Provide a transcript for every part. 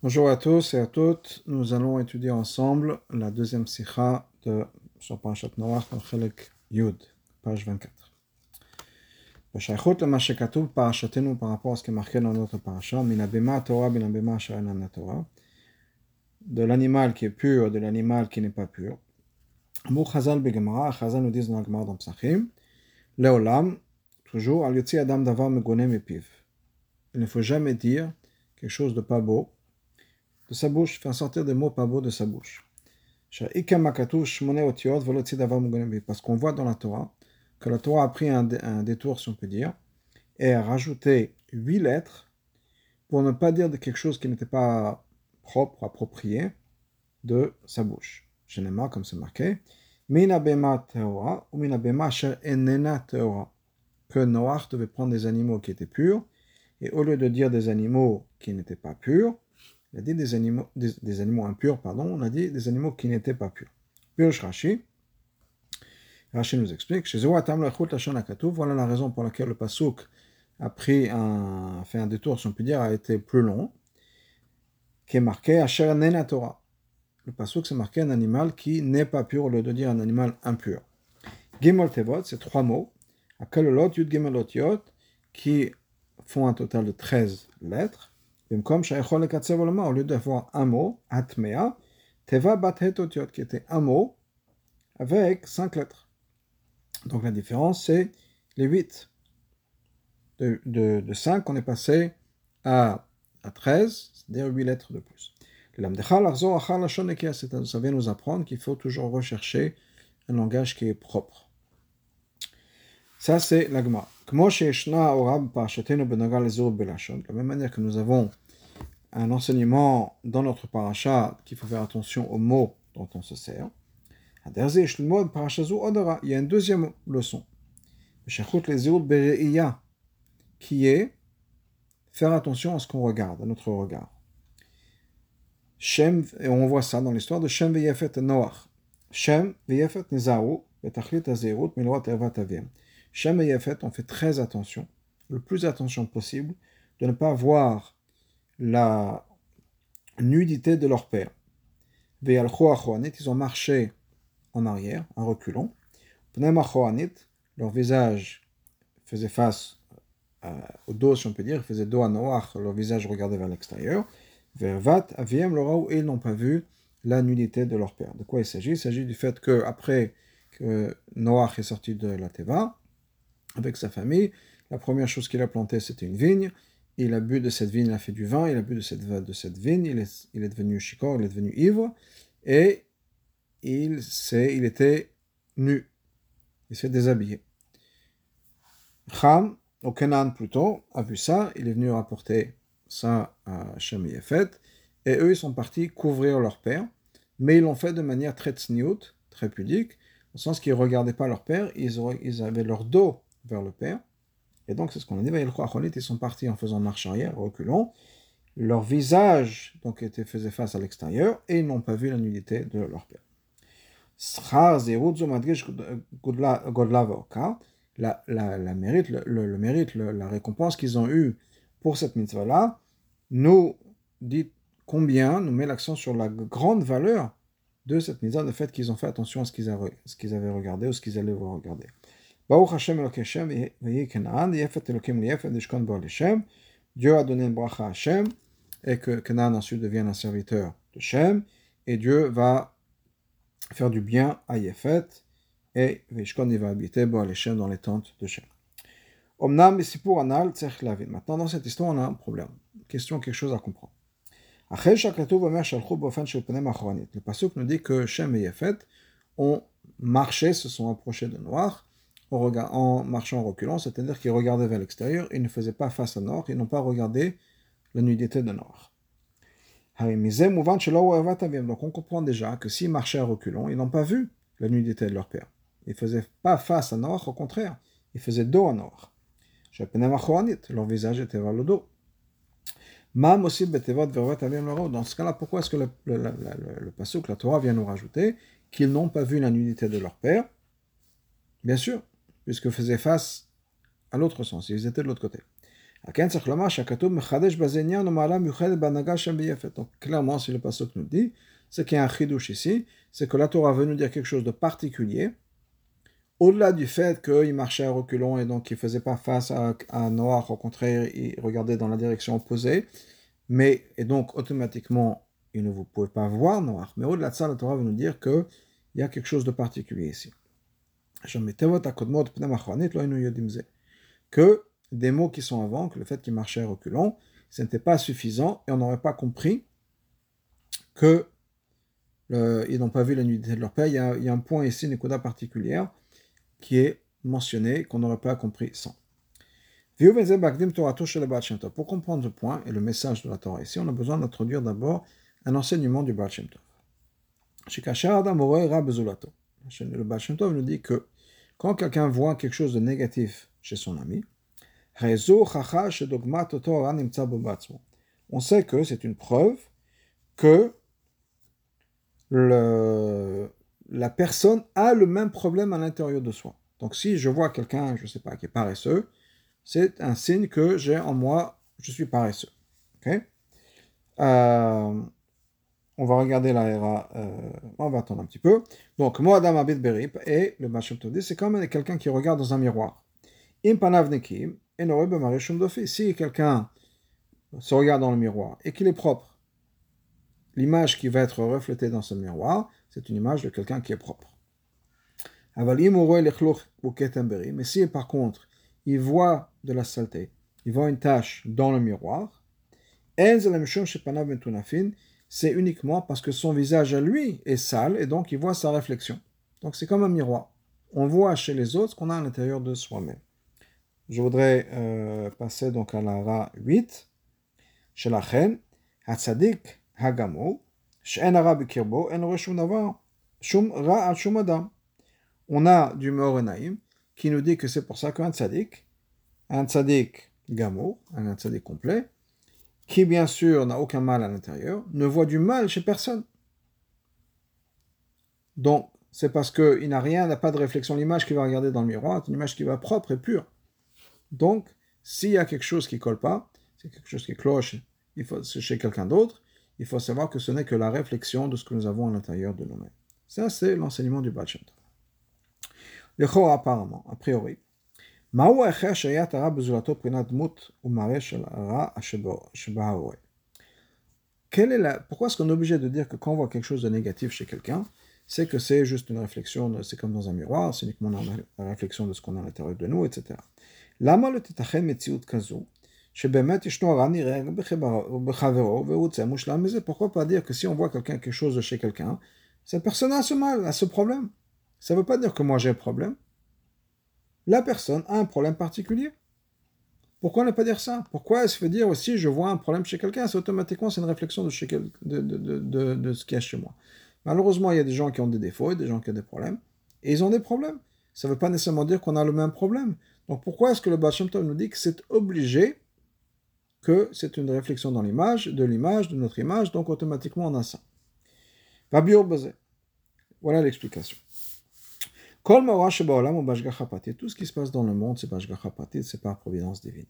Bonjour à tous et à toutes. Nous allons étudier ensemble la deuxième sikha sur Parashat Noach dans Chelek Yud, page 24. B'shaychut lema shekatuv parashatenu par rapport à ce qui est marqué dans notre parasha, min habema Torah bin habema asher enan Torah, de l'animal qui est pur, de l'animal qui n'est pas pur. Mou Chazal begemara, Chazal nous dit dans la Gemara dans Psachim, Leolam, toujours, al yotzi adam davar megone mepiv. Il ne faut jamais dire quelque chose de pas beau de sa bouche, faire sortir des mots pas beaux de sa bouche. Parce qu'on voit dans la Torah que la Torah a pris un détour, si on peut dire, et a rajouté 8 lettres pour ne pas dire de quelque chose qui n'était pas propre, approprié de sa bouche. Généralement, comme c'est marqué, Mina bema teora ou mina bema asher enena teora. Que Noach devait prendre des animaux qui étaient purs, et au lieu de dire des animaux qui n'étaient pas purs, il a dit des animaux impurs, pardon, on a dit des animaux qui n'étaient pas purs. Pirush Rashi, Rashi nous explique, voilà la raison pour laquelle le pasuk a fait un détour, si on peut dire, a été plus long, qui est marqué Asher Nena Torah. Le pasuk, c'est marqué un animal qui n'est pas pur, au lieu de dire un animal impur. Gimel Tevot, c'est 3 mots, Akalolot, Yud Gimelot Yot, qui font un total de 13 lettres. Au lieu d'avoir un mot, Atmea, Teva bat hetotiot, qui était un mot avec 5 lettres. Donc la différence, c'est les 8. De 5, on est passé à 13, c'est-à-dire 8 lettres de plus. Ça vient nous apprendre qu'il faut toujours rechercher un langage qui est propre. Ça, c'est l'agma. De la même manière que nous avons un enseignement dans notre parasha qu'il faut faire attention aux mots dont on se sert. Il y a une deuxième leçon qui est faire attention à ce qu'on regarde, à notre regard. Shem, et on voit ça dans l'histoire de Shem veyefet Noach. Shem veyefet nizaru betachlit hazirut milot ervat avim. Shem et Yafet ont fait très attention, le plus attention possible, de ne pas voir la nudité de leur père. Ils ont marché en arrière, en reculant. Leur visage faisait face au dos, si on peut dire, faisait dos à Noach, leur visage regardait vers l'extérieur. Et ils n'ont pas vu la nudité de leur père. De quoi il s'agit? Il s'agit du fait qu'après que Noach est sorti de la Teva, avec sa famille, la première chose qu'il a plantée, c'était une vigne. Il a bu de cette vigne, il a fait du vin, il a bu de cette vigne, il est devenu shikor, il est devenu ivre, et il était nu, il s'est déshabillé. Cham, au Canaan plutôt, a vu ça, il est venu rapporter ça à Shem et Yafet, et eux, ils sont partis couvrir leur père, mais ils l'ont fait de manière très tsniout, très pudique, au sens qu'ils ne regardaient pas leur père, ils avaient leur dos vers le père, et donc c'est ce qu'on a dit, ils sont partis en faisant marche arrière, reculant, leur visage donc faisait face à l'extérieur, et ils n'ont pas vu la nudité de leur père. La récompense qu'ils ont eue pour cette mitzvah-là, nous dit combien, nous met l'accent sur la grande valeur de cette mitzvah, le fait qu'ils ont fait attention à ce qu'ils avaient regardé ou ce qu'ils allaient regarder. Baruch Hashem Eloké Shem veyi Canaan, Yefet Elokim Yefet Ishkon Bo Shem. Dieu a donné une bracha à Hashem, et que Canaan ensuite devienne un serviteur de Shem, et Dieu va faire du bien à Yefet, et Vishkon il va habiter Bo Shem dans les tentes de Shem. Omnam Besipur Anal Tzech Lavin. Maintenant, dans cette histoire, on a un problème. Quelque chose à comprendre. Le pasuk nous dit que Shem et Yefet ont marché, se sont approchés de Noach en marchant en reculant, c'est-à-dire qu'ils regardaient vers l'extérieur, ils ne faisaient pas face à Noach, ils n'ont pas regardé la nudité de Noach. Donc on comprend déjà que s'ils marchaient en reculant, ils n'ont pas vu la nudité de leur père. Ils ne faisaient pas face à Noach, au contraire, ils faisaient dos à Noach. Leur visage était vers le dos. Dans ce cas-là, pourquoi est-ce que le pasuk, la Torah vient nous rajouter qu'ils n'ont pas vu la nudité de leur père? Bien sûr, puisqu'ils faisaient face à l'autre sens, ils étaient de l'autre côté. Donc clairement, si le pasuk nous dit, c'est qu'il y a un chidouche ici, c'est que la Torah veut nous dire quelque chose de particulier, au-delà du fait qu'il marchait à reculons et donc il ne faisait pas face à Noach, au contraire, il regardait dans la direction opposée, et donc automatiquement, vous ne pouvez pas voir Noach. Mais au-delà de ça, la Torah veut nous dire qu'il y a quelque chose de particulier ici. Que des mots qui sont avant, que le fait qu'ils marchaient à reculons, ce n'était pas suffisant et on n'aurait pas compris qu'ils n'ont pas vu la nudité de leur père. Il y a un point ici, une coda particulière, qui est mentionné, qu'on n'aurait pas compris sans. Pour comprendre ce point et le message de la Torah ici, on a besoin d'introduire d'abord un enseignement du Baal Shem Tov. Le Baal Shem Tov nous dit que quand quelqu'un voit quelque chose de négatif chez son ami, on sait que c'est une preuve que la personne a le même problème à l'intérieur de soi. Donc si je vois quelqu'un, je ne sais pas, qui est paresseux, c'est un signe que j'ai en moi, je suis paresseux. Okay? On va regarder la Héra, on va attendre un petit peu. Donc, moi, Adam Abid Berip, et le Baal Shem Tov dit, c'est comme quelqu'un qui regarde dans un miroir. Si quelqu'un se regarde dans le miroir et qu'il est propre, l'image qui va être reflétée dans ce miroir, c'est une image de quelqu'un qui est propre. Mais si par contre, il voit de la saleté, il voit une tache dans le miroir, c'est uniquement parce que son visage à lui est sale et donc il voit sa réflexion. Donc c'est comme un miroir. On voit chez les autres ce qu'on a à l'intérieur de soi-même. Je voudrais passer donc à la Ra 8. Chez la Chen, Hatzadik Hagamo, She'en Ara Bikirbo, En Rosh Davar, Shum Ra Al Shum Adam. On a du Meorenaïm qui nous dit que c'est pour ça qu'un tzaddik Gamo, un tzaddik complet, qui bien sûr n'a aucun mal à l'intérieur, ne voit du mal chez personne. Donc, c'est parce qu'il n'a pas de réflexion. L'image qu'il va regarder dans le miroir est une image qui va propre et pure. Donc, s'il y a quelque chose qui ne colle pas, c'est quelque chose qui cloche chez quelqu'un d'autre, il faut savoir que ce n'est que la réflexion de ce que nous avons à l'intérieur de nous-mêmes. Ça, c'est l'enseignement du Baal Shem Tov. Le Chor, apparemment, a priori, pourquoi est-ce qu'on est obligé de dire que quand on voit quelque chose de négatif chez quelqu'un, c'est que c'est juste une réflexion, c'est comme dans un miroir, c'est uniquement la réflexion de ce qu'on a à l'intérieur de nous, etc. Pourquoi pas dire que si on voit quelque chose de chez quelqu'un, cette personne a ce mal, a ce problème. Ça ne veut pas dire que moi j'ai un problème. La personne a un problème particulier. Pourquoi ne pas dire ça? Pourquoi est-ce qu'il faut dire aussi je vois un problème chez quelqu'un? C'est automatiquement c'est une réflexion de ce qu'il y a chez moi. Malheureusement, il y a des gens qui ont des défauts et des gens qui ont des problèmes. Et ils ont des problèmes. Ça ne veut pas nécessairement dire qu'on a le même problème. Donc pourquoi est-ce que le Baal Shem Tov nous dit que c'est obligé, que c'est une réflexion dans l'image, de notre image, donc automatiquement on a ça. Voilà l'explication. Tout ce qui se passe dans le monde, c'est Bashgacha Pratit, c'est par providence divine.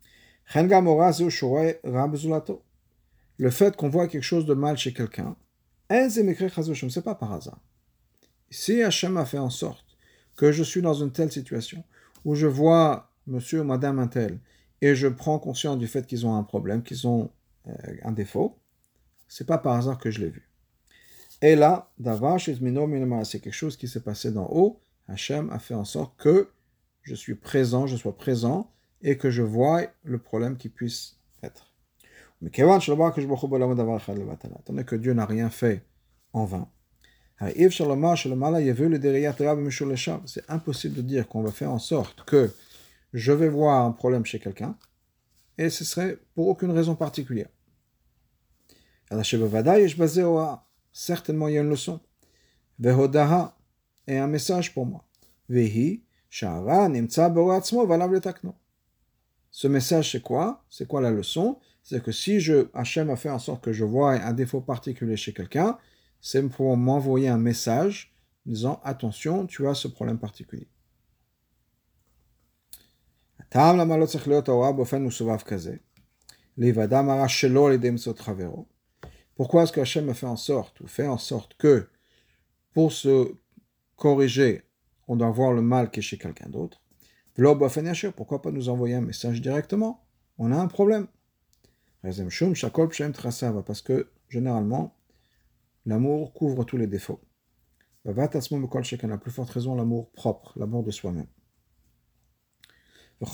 Le fait qu'on voit quelque chose de mal chez quelqu'un, c'est pas par hasard. Si Hachem a fait en sorte que je suis dans une telle situation, où je vois monsieur ou madame un tel, et je prends conscience du fait qu'ils ont un problème, qu'ils ont un défaut, c'est pas par hasard que je l'ai vu. Et là, c'est quelque chose qui s'est passé d'en haut. Hachem a fait en sorte que je sois présent, et que je vois le problème qui puisse être. Mais tandis que Dieu n'a rien fait en vain, c'est impossible de dire qu'on va faire en sorte que je vais voir un problème chez quelqu'un, et ce serait pour aucune raison particulière. Certainement, il y a une leçon. Et un message pour moi. Ce message, c'est quoi? C'est quoi la leçon? C'est que si Hachem a fait en sorte que je vois un défaut particulier chez quelqu'un, c'est pour m'envoyer un message disant attention, tu as ce problème particulier. טעם למה לא צריך להיות ההוראה באופן מסובב כזה? להיוודע מרע שלא על ידי מצוות חברו. Pourquoi est-ce que Hachem a fait en sorte, ou fait en sorte que, pour se corriger, on doit voir le mal qui est chez quelqu'un d'autre? Pourquoi pas nous envoyer un message directement? On a un problème. Parce que, généralement, l'amour couvre tous les défauts. À la plus forte raison, l'amour propre, l'amour de soi-même. Il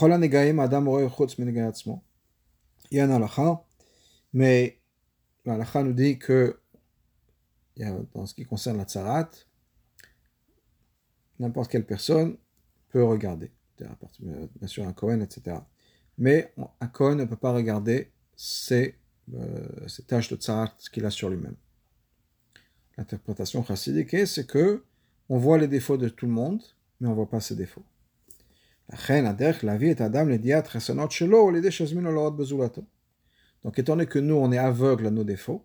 y a un halakha, mais l'halakha nous dit que, dans ce qui concerne la tsarat, n'importe quelle personne peut regarder. Bien sûr, un Kohen, etc. Mais un Kohen ne peut pas regarder ces tâches de tsarat qu'il a sur lui-même. L'interprétation chassidique, c'est que on voit les défauts de tout le monde, mais on ne voit pas ses défauts. Donc, étant donné que nous, on est aveugle à nos défauts,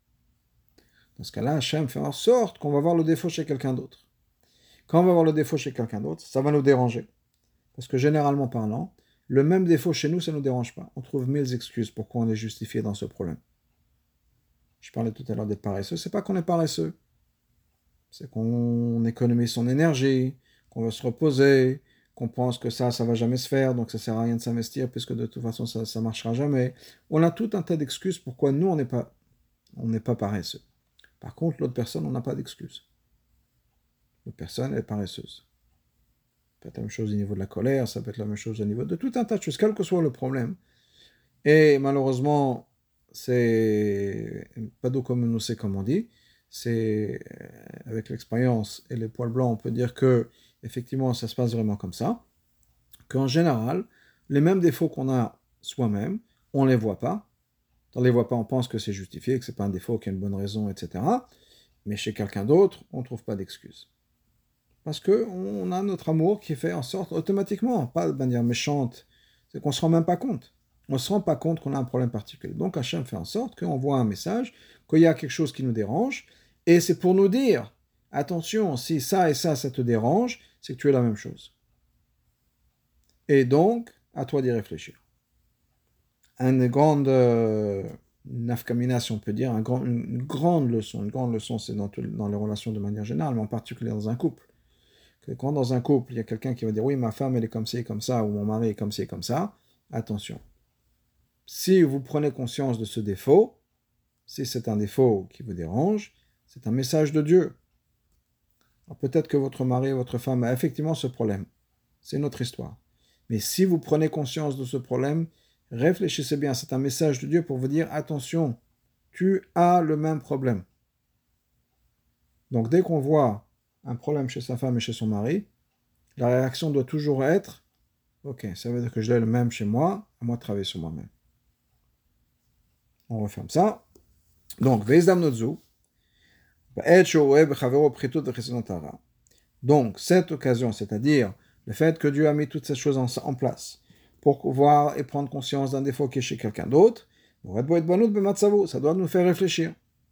dans ce cas-là, Hachem fait en sorte qu'on va voir le défaut chez quelqu'un d'autre. Quand on va voir le défaut chez quelqu'un d'autre, ça va nous déranger. Parce que généralement parlant, le même défaut chez nous, ça ne nous dérange pas. On trouve 1000 excuses pourquoi on est justifié dans ce problème. Je parlais tout à l'heure d'être paresseux. C'est pas qu'on est paresseux. C'est qu'on économise son énergie, qu'on veut se reposer, qu'on pense que ça va jamais se faire, donc ça sert à rien de s'investir, puisque de toute façon, ça marchera jamais. On a tout un tas d'excuses pourquoi nous, on n'est pas paresseux. Par contre, l'autre personne, on n'a pas d'excuses. L'autre personne, elle est paresseuse. Ça peut être la même chose au niveau de la colère, ça peut être la même chose au niveau de tout un tas de choses, quel que soit le problème. Et malheureusement, c'est pas d'eau comme nous sait, comme on dit. C'est avec l'expérience et les poils blancs, on peut dire que effectivement, ça se passe vraiment comme ça. Qu'en général, les mêmes défauts qu'on a soi-même, on ne les voit pas. On ne les voit pas, on pense que c'est justifié, que c'est pas un défaut, qu'il y a une bonne raison, etc. Mais chez quelqu'un d'autre, on ne trouve pas d'excuse. Parce qu'on a notre amour qui fait en sorte automatiquement, pas de manière méchante, c'est qu'on ne se rend même pas compte. On ne se rend pas compte qu'on a un problème particulier. Donc Hachem fait en sorte qu'on voit un message, qu'il y a quelque chose qui nous dérange, et c'est pour nous dire, attention, si ça et ça te dérange, c'est que tu es la même chose. Et donc, à toi d'y réfléchir. Une grande nafkamina, si on peut dire, une grande leçon, c'est dans les relations de manière générale, mais en particulier dans un couple. Quand dans un couple, il y a quelqu'un qui va dire « Oui, ma femme, elle est comme ci, comme ça », ou « Mon mari est comme ci, comme ça », attention. Si vous prenez conscience de ce défaut, si c'est un défaut qui vous dérange, c'est un message de Dieu. Alors peut-être que votre mari ou votre femme a effectivement ce problème. C'est notre histoire. Mais si vous prenez conscience de ce problème, réfléchissez bien, c'est un message de Dieu pour vous dire « Attention, tu as le même problème ». Donc dès qu'on voit un problème chez sa femme et chez son mari, la réaction doit toujours être « Ok, ça veut dire que je l'ai le même chez moi, à moi de travailler sur moi-même ». On referme ça. Donc, donc, cette occasion, c'est-à-dire le fait que Dieu a mis toutes ces choses en place pour voir et prendre conscience d'un défaut qui est chez quelqu'un d'autre, ça doit nous faire réfléchir.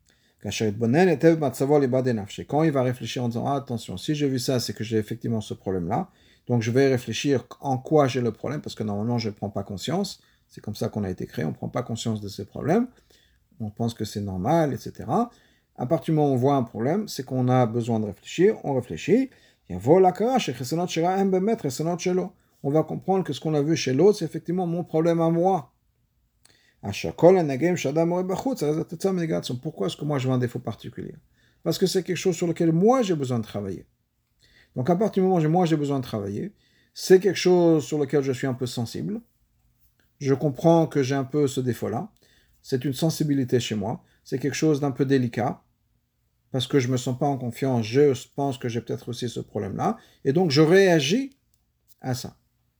Quand il va réfléchir en disant attention, si j'ai vu ça, c'est que j'ai effectivement ce problème-là, donc je vais réfléchir en quoi j'ai le problème, parce que normalement je ne prends pas conscience, c'est comme ça qu'on a été créé, on ne prend pas conscience de ces problèmes, on pense que c'est normal, etc. À partir du moment où on voit un problème, c'est qu'on a besoin de réfléchir, on réfléchit, on va comprendre que ce qu'on a vu chez l'autre, c'est effectivement mon problème à moi. Pourquoi est-ce que moi je vois un défaut particulier? Parce que c'est quelque chose sur lequel moi j'ai besoin de travailler. Donc à partir du moment où moi j'ai besoin de travailler, c'est quelque chose sur lequel je suis un peu sensible. Je comprends que j'ai un peu ce défaut-là. C'est une sensibilité chez moi. C'est quelque chose d'un peu délicat. Parce que je ne me sens pas en confiance. Je pense que j'ai peut-être aussi ce problème-là. Et donc je réagis à ça.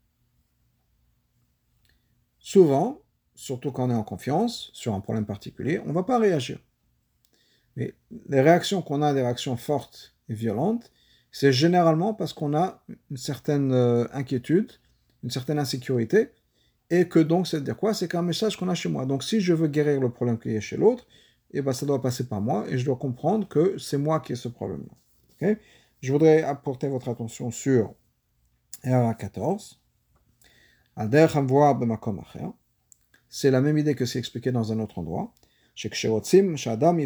Souvent, surtout quand on est en confiance, sur un problème particulier, on ne va pas réagir. Mais les réactions qu'on a, des réactions fortes et violentes, c'est généralement parce qu'on a une certaine inquiétude, une certaine insécurité, et que donc, c'est de dire quoi? C'est qu'un message qu'on a chez moi. Donc, si je veux guérir le problème qu'il y a chez l'autre, eh ben, ça doit passer par moi, et je dois comprendre que c'est moi qui ai ce problème-là. Okay? Je voudrais apporter votre attention sur RA 14. C'est la même idée que c'est expliqué dans un autre endroit. Qui nous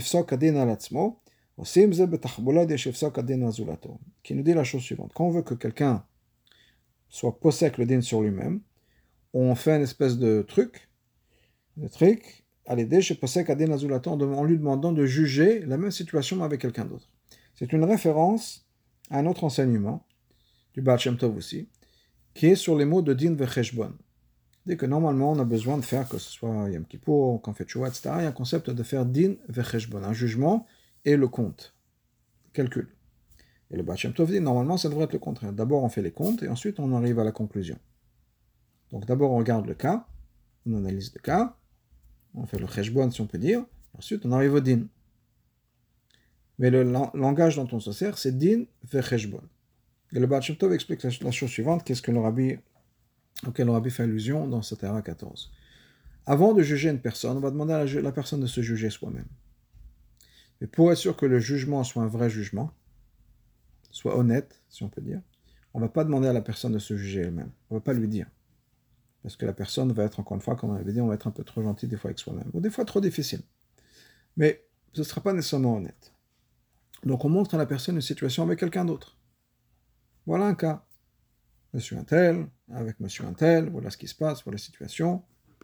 dit la chose suivante. Quand on veut que quelqu'un soit possèque le din sur lui-même, on fait une espèce de truc, à l'aider chez possèque adin azulato, en lui demandant de juger la même situation mais avec quelqu'un d'autre. C'est une référence à un autre enseignement, du Baal Shem Tov aussi, qui est sur les mots de din vecheshbon. Dès que normalement on a besoin de faire, que ce soit Yom Kippour, quand on fait Tchouva, etc., il y a un concept de faire din vecheshbon, un jugement et le compte, calcul. Et le Baal Shem Tov dit, normalement ça devrait être le contraire. D'abord on fait les comptes et ensuite on arrive à la conclusion. Donc d'abord on regarde le cas, on analyse le cas, on fait le cheshbon si on peut dire, ensuite on arrive au din. Mais le langage dont on se sert, c'est din vecheshbon. Et le Baal Shem Tov explique la chose suivante, qu'est-ce que auquel le Rabbi fait allusion dans cette Hara 14. Avant de juger une personne, on va demander à la personne de se juger soi-même. Mais pour être sûr que le jugement soit un vrai jugement, soit honnête, si on peut dire, on ne va pas demander à la personne de se juger elle-même. On ne va pas lui dire. Parce que la personne va être, encore une fois, comme on avait dit, on va être un peu trop gentil des fois avec soi-même, ou des fois trop difficile. Mais ce ne sera pas nécessairement honnête. Donc on montre à la personne une situation avec quelqu'un d'autre. Voilà un cas. Monsieur un tel, avec monsieur un tel, voilà ce qui se passe, voilà la situation.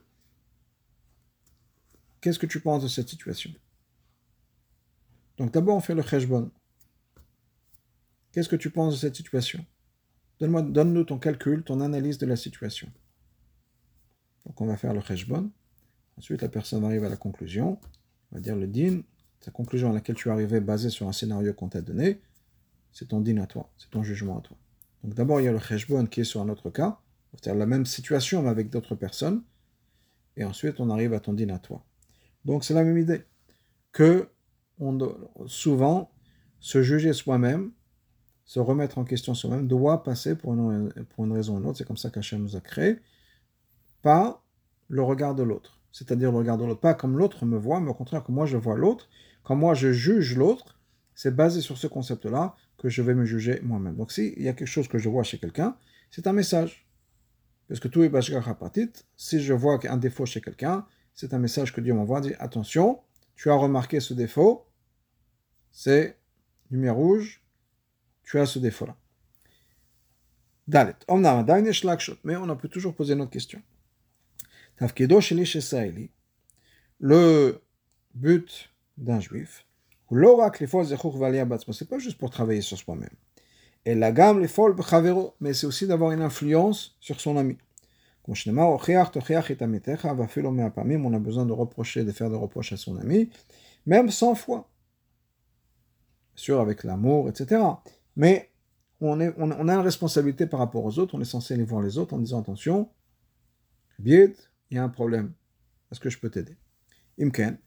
Qu'est-ce que tu penses de cette situation? Donc d'abord on fait le cheshbon. Qu'est-ce que tu penses de cette situation? Donne-nous ton calcul, ton analyse de la situation. Donc on va faire le cheshbon. Ensuite la personne arrive à la conclusion. On va dire le din. Ta conclusion à laquelle tu es arrivé basée sur un scénario qu'on t'a donné, c'est ton din à toi, c'est ton jugement à toi. Donc d'abord il y a le cheshbon qui est sur un autre cas, c'est-à-dire la même situation mais avec d'autres personnes. Et ensuite on arrive à ton din à toi. Donc c'est la même idée. Que souvent, se juger soi-même, se remettre en question soi-même, doit passer pour une raison ou une autre, c'est comme ça qu'Hachem nous a créés, pas le regard de l'autre. C'est-à-dire le regard de l'autre, pas comme l'autre me voit, mais au contraire, comme moi je vois l'autre, quand moi je juge l'autre, c'est basé sur ce concept-là que je vais me juger moi-même. Donc s'il y a quelque chose que je vois chez quelqu'un, c'est un message. Parce que tout est bashgar hapatit, si je vois un défaut chez quelqu'un, c'est un message que Dieu m'envoie, dit attention, tu as remarqué ce défaut, c'est lumière rouge, tu as ce défaut-là. Dalet. Mais on peut toujours poser une autre question. Le but d'un juif, c'est pas juste pour travailler sur soi-même. Et la gamme, mais c'est aussi d'avoir une influence sur son ami. On a besoin de faire des reproches à son ami, même 100 fois. Sûr, avec l'amour, etc. Mais on a une responsabilité par rapport aux autres, on est censé aller voir les autres en disant attention, il y a un problème, est-ce que je peux t'aider? Imken,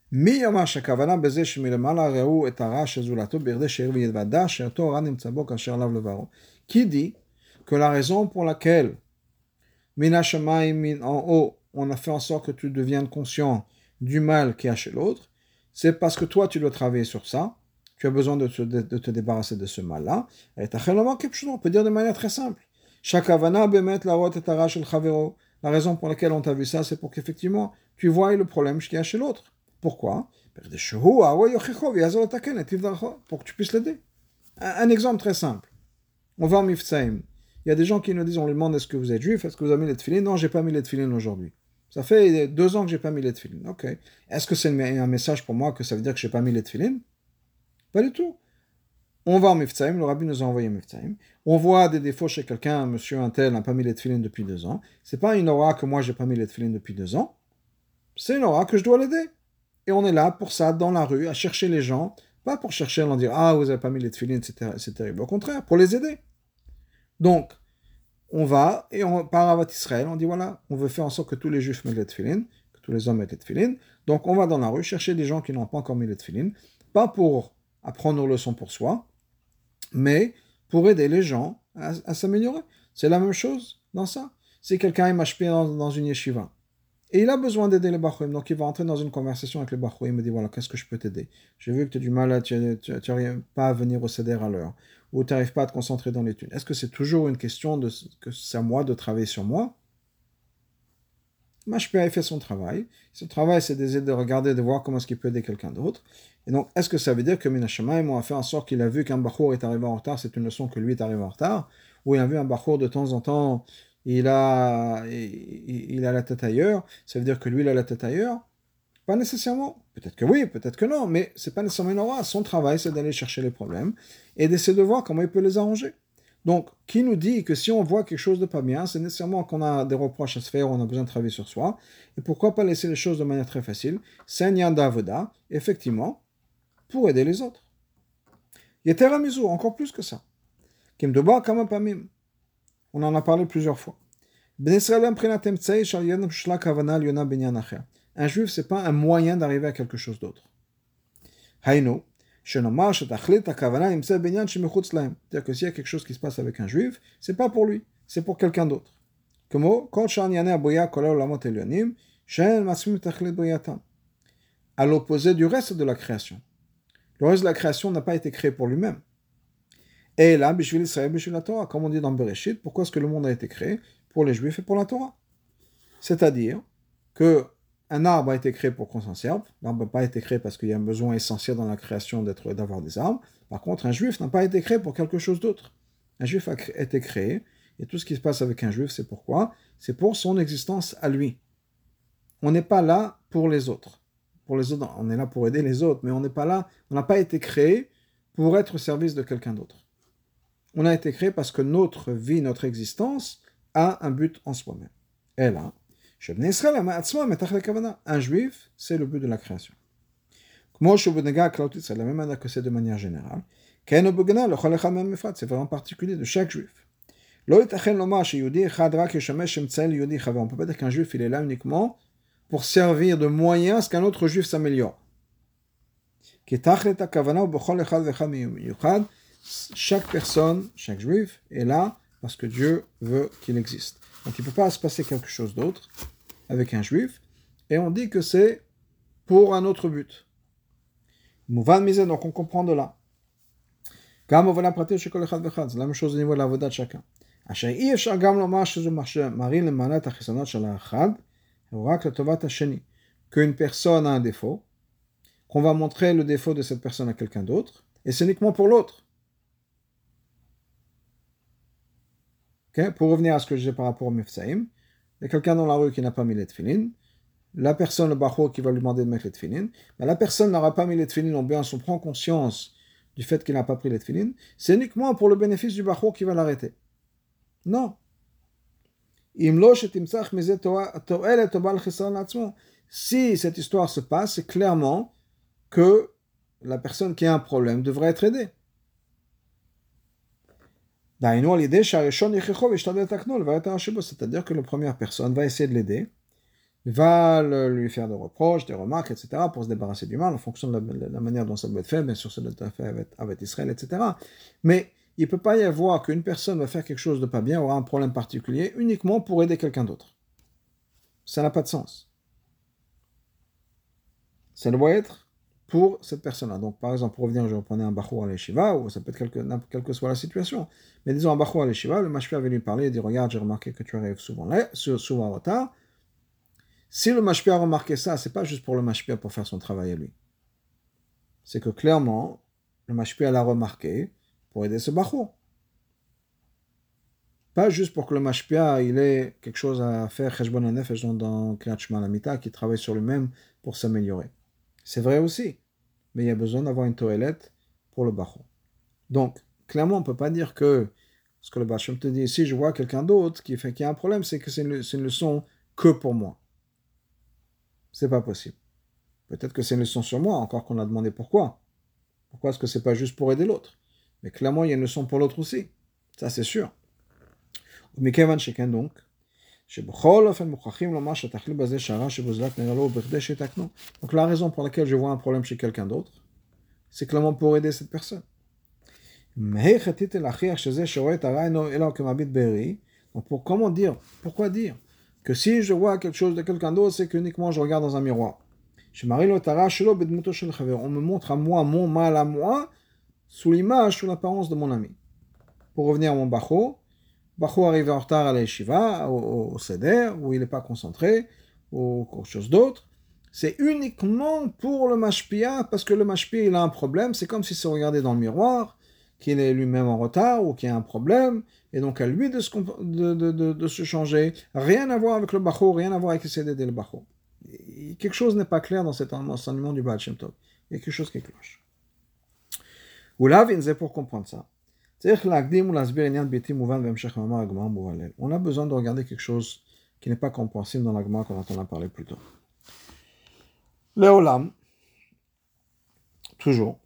qui dit que la raison pour laquelle en haut, on a fait en sorte que tu deviennes conscient du mal qu'il y a chez l'autre, c'est parce que toi tu dois travailler sur ça, tu as besoin de te débarrasser de ce mal-là. Et on peut dire de manière très simple. La raison pour laquelle on t'a vu ça, c'est pour qu'effectivement tu vois le problème qu'il y a chez l'autre. Pourquoi? Pour que tu puisses l'aider. Un exemple très simple. On va en Mifsaïm. Il y a des gens qui nous disent, on leur demande est-ce que vous êtes juif, est-ce que vous avez mis les tefilines? Non, j'ai pas mis les tefilines aujourd'hui. Ça fait 2 ans que j'ai pas mis les tefilines. Ok. Est-ce que c'est un message pour moi que ça veut dire que j'ai pas mis les tefilines? Pas du tout. On va en Mifsaïm, le rabbi nous a envoyé Mifsaïm. On voit des défauts chez quelqu'un, monsieur un tel n'a pas mis les tefilines depuis 2 ans. C'est pas une aura que moi j'ai pas mis les tefilines depuis 2 ans. C'est une aura que je dois l'aider. Et on est là pour ça, dans la rue, à chercher les gens, pas pour chercher à leur dire ah vous avez pas mis les tefilines, c'est terrible. Au contraire, pour les aider. Donc, on va, et par Avat Israël, on dit voilà, on veut faire en sorte que tous les juifs mettent les tefilines, que tous les hommes mettent les tefilines. Donc, on va dans la rue chercher des gens qui n'ont pas encore mis les tefilines, pas pour apprendre nos leçons pour soi, mais pour aider les gens à s'améliorer. C'est la même chose dans ça. Si quelqu'un est machpé dans une yeshiva, et il a besoin d'aider les Bachouim, donc il va entrer dans une conversation avec les Bachouim, il me dit voilà, qu'est-ce que je peux t'aider? J'ai vu que tu as du mal, tu n'arrives pas à venir au CEDER à l'heure, ou tu n'arrives pas à te concentrer dans l'étude. Est-ce que c'est toujours une question que c'est à moi de travailler sur moi? Mashpia, il fait son travail. Son travail, c'est d'essayer de regarder, de voir comment est-ce qu'il peut aider quelqu'un d'autre. Et donc, est-ce que ça veut dire que Minashamayim a fait en sorte qu'il a vu qu'un Bachour est arrivé en retard, c'est une leçon que lui est arrivé en retard, ou il a vu un Bachour de temps en temps, il a la tête ailleurs, ça veut dire que lui, il a la tête ailleurs? Pas nécessairement. Peut-être que oui, peut-être que non, mais c'est pas nécessairement une aura. Son travail, c'est d'aller chercher les problèmes et d'essayer de voir comment il peut les arranger. Donc, qui nous dit que si on voit quelque chose de pas bien, c'est nécessairement qu'on a des reproches à se faire, on a besoin de travailler sur soi. Et pourquoi pas laisser les choses de manière très facile? C'est un yanda avoda, effectivement, pour aider les autres. Yeteramizu, encore plus que ça. Kimdoba kama pamim. On en a parlé plusieurs fois. Un juif, c'est pas un moyen d'arriver à quelque chose d'autre. Haïno, c'est-à-dire que s'il y a quelque chose qui se passe avec un juif, c'est pas pour lui, c'est pour quelqu'un d'autre. À l'opposé du reste de la création. Le reste de la création n'a pas été créé pour lui-même. Et là, comme on dit dans Bereshit, pourquoi est-ce que le monde a été créé? Pour les juifs et pour la Torah. C'est-à-dire que un arbre a été créé pour qu'on s'en serve. L'arbre n'a pas été créé parce qu'il y a un besoin essentiel dans la création d'avoir des arbres. Par contre, un juif n'a pas été créé pour quelque chose d'autre. Un juif a été créé, et tout ce qui se passe avec un juif, c'est pourquoi? C'est pour son existence à lui. On n'est pas là pour les autres. Pour les autres, on est là pour aider les autres, mais on n'est pas là, on n'a pas été créé pour être au service de quelqu'un d'autre. On a été créé parce que notre vie, notre existence a un but en soi-même. Et là, un juif, c'est le but de la création. C'est la même manière que c'est de manière générale. C'est vraiment particulier de chaque juif. On ne peut pas dire qu'un juif il est là uniquement pour servir de moyen à ce qu'un autre juif s'améliore. Chaque personne, chaque juif est là parce que Dieu veut qu'il existe. Donc il ne peut pas se passer quelque chose d'autre avec un juif, et on dit que c'est pour un autre but. Donc on comprend de là. C'est la même chose au niveau de la voda de chacun. Qu'une personne a un défaut, qu'on va montrer le défaut de cette personne à quelqu'un d'autre, et c'est uniquement pour l'autre. Okay? Pour revenir à ce que je disais par rapport au Mifsaïm, il y a quelqu'un dans la rue qui n'a pas mis les tefilin, la personne, le bachor, qui va lui demander de mettre les tefilin, mais la personne n'aura pas mis les tefilin, ou bien on prend conscience du fait qu'il n'a pas pris les tefilin, c'est uniquement pour le bénéfice du bachor qui va l'arrêter. Non. Si cette histoire se passe, c'est clairement que la personne qui a un problème devrait être aidée. C'est-à-dire que la première personne va essayer de l'aider, va lui faire des reproches, des remarques, etc., pour se débarrasser du mal, en fonction de la manière dont ça doit être fait, bien sûr ça doit être fait avec Israël, etc. Mais il ne peut pas y avoir qu'une personne va faire quelque chose de pas bien, aura un problème particulier, uniquement pour aider quelqu'un d'autre. Ça n'a pas de sens. Ça doit être pour cette personne-là. Donc, par exemple, pour revenir, je reprenais un bachou à l'Eshiva, ou ça peut être quelle que soit la situation. Mais disons un bachou à l'Eshiva, le mashpia avait lui parler et dit, regarde, j'ai remarqué que tu arrives souvent en retard. Si le mashpia a remarqué ça, c'est pas juste pour le mashpia pour faire son travail à lui. C'est que clairement, le mashpia l'a remarqué pour aider ce bachou. Pas juste pour que le mashpia il ait quelque chose à faire, cheshbon hanefesh dans Kriyat Shema Lamita, qui travaille sur lui-même pour s'améliorer. C'est vrai aussi, mais il y a besoin d'avoir une toilette pour le bachou. Donc, clairement, on ne peut pas dire que ce que le Bachem te dit, si je vois quelqu'un d'autre qui a un problème, c'est que c'est une leçon que pour moi. C'est pas possible. Peut-être que c'est une leçon sur moi, encore qu'on a demandé pourquoi. Pourquoi est-ce que c'est pas juste pour aider l'autre? Mais clairement, il y a une leçon pour l'autre aussi. Ça, c'est sûr. Mais Kevan Sheken donc, donc la raison pour laquelle je vois un problème chez quelqu'un d'autre, c'est clairement pour aider cette personne. Donc comment dire, pourquoi dire que si je vois quelque chose de quelqu'un d'autre, c'est qu'uniquement je regarde dans un miroir. On me montre à moi mon mal à moi sous l'image, sous l'apparence de mon ami. Pour revenir à mon bachou arrive en retard à la yeshiva, au seder, où il n'est pas concentré, ou quelque chose d'autre, c'est uniquement pour le mashpia, parce que le mashpia, il a un problème. C'est comme si se regardait dans le miroir, qu'il est lui-même en retard ou qu'il y a un problème, et donc à lui de se changer. Rien à voir avec le Bachor, rien à voir avec essayer d'aider le Bachor. Quelque chose n'est pas clair dans cet enseignement du Baal Shem Tov. Il y a quelque chose qui cloche. Ou là, pour comprendre ça. On a besoin de regarder quelque chose qui n'est pas compréhensible dans la Gemara qu'on a parlé plus tôt. Le Olam, toujours.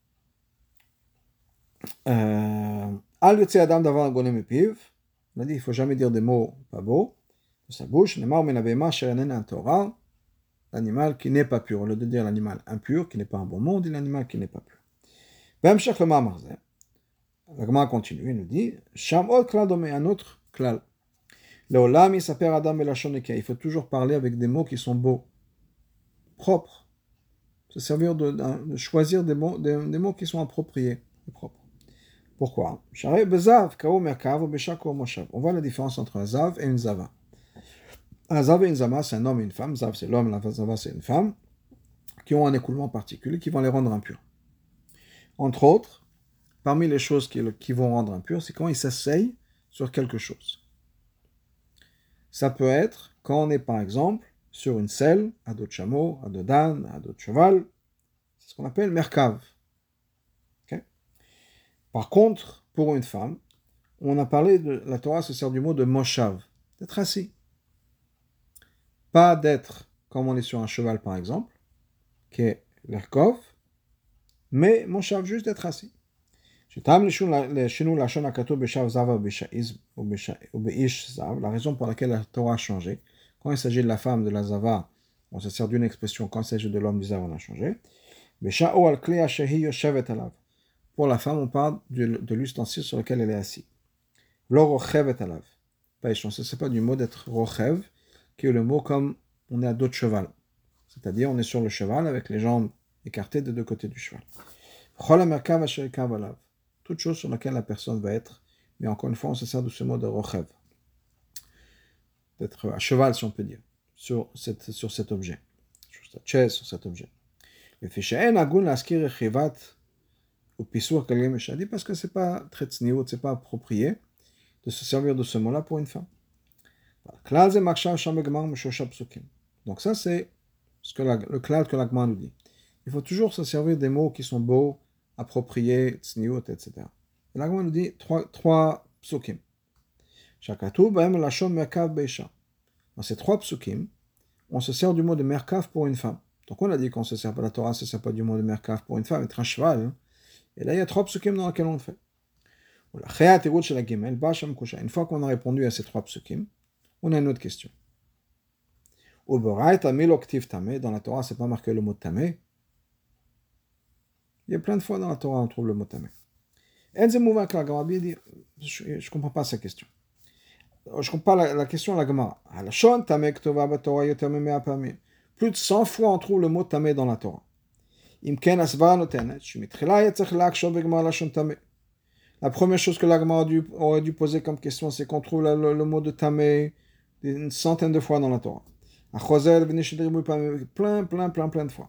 Al yotze adam davar gonem mepiv. On a dit il ne faut jamais dire des mots pas beaux de sa bouche. Nemar men avema sherenena en Torah. L'animal qui n'est pas pur. Au lieu de dire l'animal impur, qui n'est pas un bon mot, on dit l'animal qui n'est pas pur. V'amshach le ma'amar zeh. La Gemara continue, il nous dit Sham od klal dome, un autre klal. Le Olam yisaper adam belashon nekeh. Il faut toujours parler avec des mots qui sont beaux, propres. Se servir de choisir des mots qui sont appropriés et propres. Pourquoi? On voit la différence entre un zav et une zava. Un zav et une zama, c'est un homme et une femme. Zav, c'est l'homme, la zava, c'est une femme, qui ont un écoulement particulier, qui vont les rendre impurs. Entre autres, parmi les choses qui vont rendre impurs, c'est quand ils s'asseyent sur quelque chose. Ça peut être quand on est, par exemple, sur une selle, à dos de chameau, à dos d'âne, à dos de cheval. C'est ce qu'on appelle merkav. Par contre, pour une femme, on a parlé la Torah se sert du mot de moshav, d'être assis. Pas d'être comme on est sur un cheval par exemple, qui est l'erkov, mais moshav, juste d'être assis. La raison pour laquelle la Torah a changé, quand il s'agit de la femme de la zava, on se sert d'une expression, quand il s'agit de l'homme du zav, on a changé. Pour la femme, on parle de l'ustensile sur lequel elle est assise. Lo rochevet alav. C'est pas du mot d'être rochev, qui est le mot comme on est à dos de cheval. C'est-à-dire, on est sur le cheval avec les jambes écartées des deux côtés du cheval. Chol merkav asher kav alav. Toute chose sur laquelle la personne va être. Mais encore une fois, on se sert de ce mot de rochev. D'être à cheval, si on peut dire, sur cet objet. Sur cette chaise, sur cet objet. Le fiche'en agun laskir echivat parce que c'est pas très tsniout, c'est pas approprié de se servir de ce mot-là pour une femme. Donc ça c'est le klal que l'agma nous dit. Il faut toujours se servir des mots qui sont beaux, appropriés, tsniout, etc. Et l'agma nous dit trois psukim. Dans ces trois psukim, on se sert du mot de merkav pour une femme. Donc on a dit qu'on se sert pas la Torah, se sert pas du mot de merkav pour une femme, être un cheval. Hein. Et là, il y a trois psukim dans lesquels on le fait. Une fois qu'on a répondu à ces trois psukim, on a une autre question. Dans la Torah, c'est pas marqué le mot tamé. Il y a plein de fois dans la Torah on trouve le mot tamé. Je ne comprends pas cette question. Je ne comprends pas la question de la Gemara. Plus de 100 fois on trouve le mot tamé dans la Torah. La première chose que l'agma aurait dû poser comme question, c'est qu'on trouve le mot de tamé une centaine de fois dans la Torah. Plein de fois.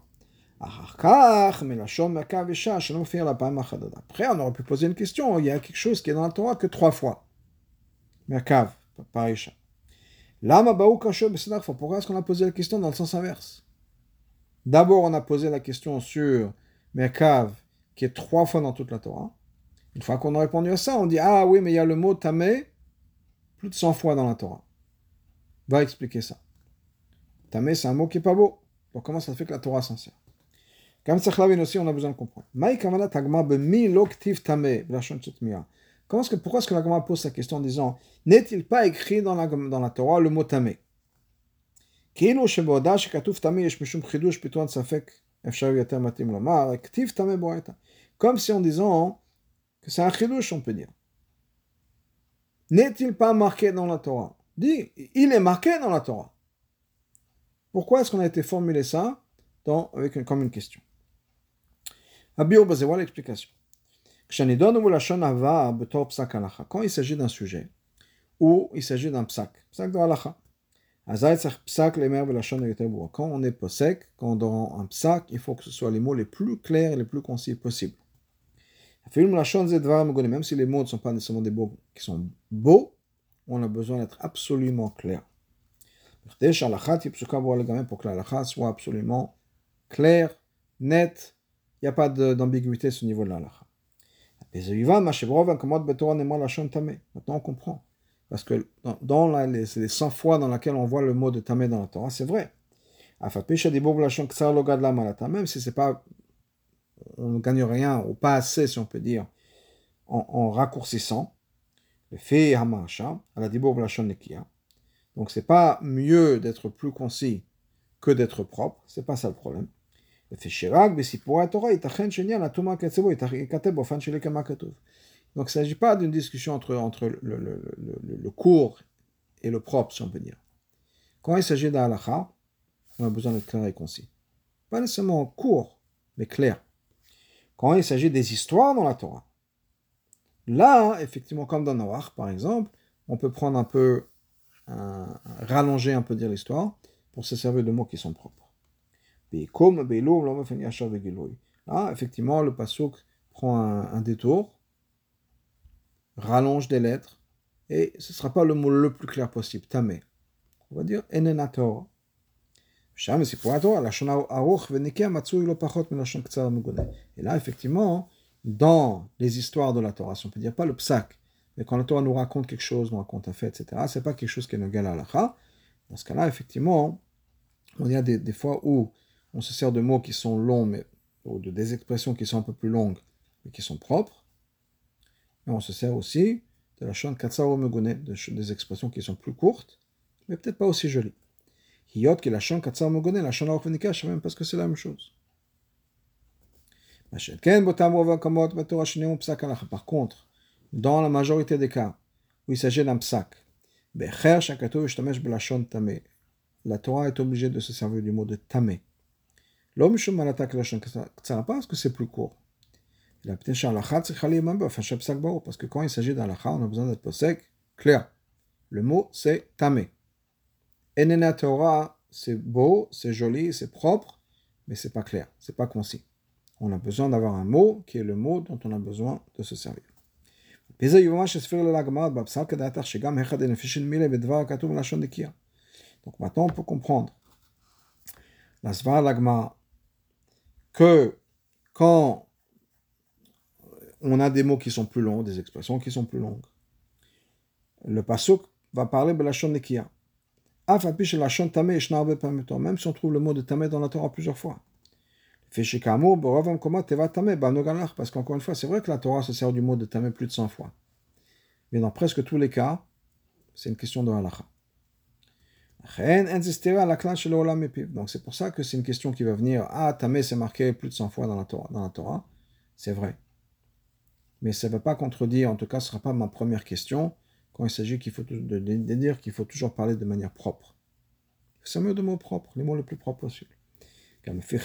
Après, on aurait pu poser une question. Il y a quelque chose qui est dans la Torah que 3 fois. Merkav, par Isha. Pourquoi est-ce qu'on a posé la question dans le sens inverse? D'abord, on a posé la question sur Merkav, qui est 3 fois dans toute la Torah. Une fois qu'on a répondu à ça, on dit ah oui, mais il y a le mot tamé plus de 100 fois dans la Torah. Va expliquer ça. Tamé, c'est un mot qui n'est pas beau. Donc comment ça fait que la Torah s'en sert? Comme Tsachlavin aussi, on a besoin de comprendre. Pourquoi est-ce que la Gemara pose cette question en disant n'est-il pas écrit dans la Torah le mot tamé? Comme si en disant que c'est un chidouche, on peut dire. N'est-il pas marqué dans la Torah? Dit, il est marqué dans la Torah. Pourquoi est-ce qu'on a été formulé ça comme une question? Voilà l'explication. Quand il s'agit d'un sujet ou il s'agit d'un psak de halacha, Quand on est posek, quand on donne un psak, il faut que ce soit les mots les plus clairs et les plus concis possibles. Même si les mots ne sont pas nécessairement des mots qui sont beaux, on a besoin d'être absolument clair. Pour que la soit absolument claire, nette, il n'y a pas d'ambiguïté sur ce niveau de la halakha. Maintenant on comprend. Parce que dans les 100 fois dans lesquelles on voit le mot de tamé dans la Torah, c'est vrai. Même si c'est pas, on ne gagne rien, ou pas assez, si on peut dire, en raccourcissant, le fait hamasha, à la dibour lachon nekia. Donc c'est pas mieux d'être plus concis que d'être propre, c'est pas ça le problème. Le fait shirag, besipoura Torah, itachen shenia, la tuma katsebo, itakateb, ofan shelekama katov. Donc il ne s'agit pas d'une discussion entre le court et le propre, si on peut dire. Quand il s'agit d'Halakha, on a besoin d'être clair et concis. Pas nécessairement court, mais clair. Quand il s'agit des histoires dans la Torah, là, effectivement, comme dans Noach, par exemple, on peut prendre un peu, rallonger un peu dire l'histoire pour se servir de mots qui sont propres. Là, effectivement, le pasuk prend un détour, rallonge des lettres, et ce ne sera pas le mot le plus clair possible, tamé. On va dire enena Torah. Et là, effectivement, dans les histoires de la Torah, si on peut dire pas le psak, mais quand la Torah nous raconte quelque chose, nous raconte un fait, etc., c'est pas quelque chose qui est égal à l'halakha. Dans ce cas-là, effectivement, on y a des fois où on se sert de mots qui sont longs, ou de des expressions qui sont un peu plus longues, mais qui sont propres. Et on se sert aussi de la shon katsaro megune, des expressions qui sont plus courtes, mais peut-être pas aussi jolies. Hiyot qui la shon katsaro megune, la shon aruch v'nikash, même parce que c'est la même chose. Par contre, dans la majorité des cas où il s'agit d'un psak, la Torah est obligée de se servir du mot de tamé. L'homme pas parce que c'est plus court. Parce que quand il s'agit d'un lacha, on a besoin d'être posek, clair. Le mot c'est tamé. Enena Torah, c'est beau, c'est joli, c'est propre, mais c'est pas clair, c'est pas concis. On a besoin d'avoir un mot qui est le mot dont on a besoin de se servir. Donc maintenant on peut comprendre la Svar Lagma que quand on a des mots qui sont plus longs, des expressions qui sont plus longues, le pasuk va parler de la shon nekia. Même si on trouve le mot de tamé dans la Torah plusieurs fois. Parce qu'encore une fois, c'est vrai que la Torah se sert du mot de tamé plus de 100 fois. Mais dans presque tous les cas, c'est une question de halakha. Donc c'est pour ça que c'est une question qui va venir. Ah, tamé c'est marqué plus de 100 fois dans la Torah. C'est vrai. Mais ça ne va pas contredire, en tout cas ce ne sera pas ma première question, quand il s'agit de dire qu'il faut toujours parler de manière propre. C'est mieux de mots propres, les mots les plus propres possibles. Même si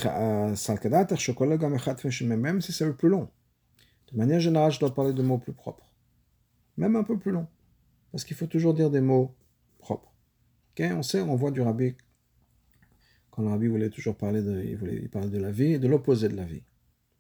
c'est le plus long. De manière générale, je dois parler de mots plus propres. Même un peu plus long. Parce qu'il faut toujours dire des mots propres. Okay? On voit du rabbi, quand le rabbi voulait toujours parler il parlait de la vie et de l'opposé de la vie.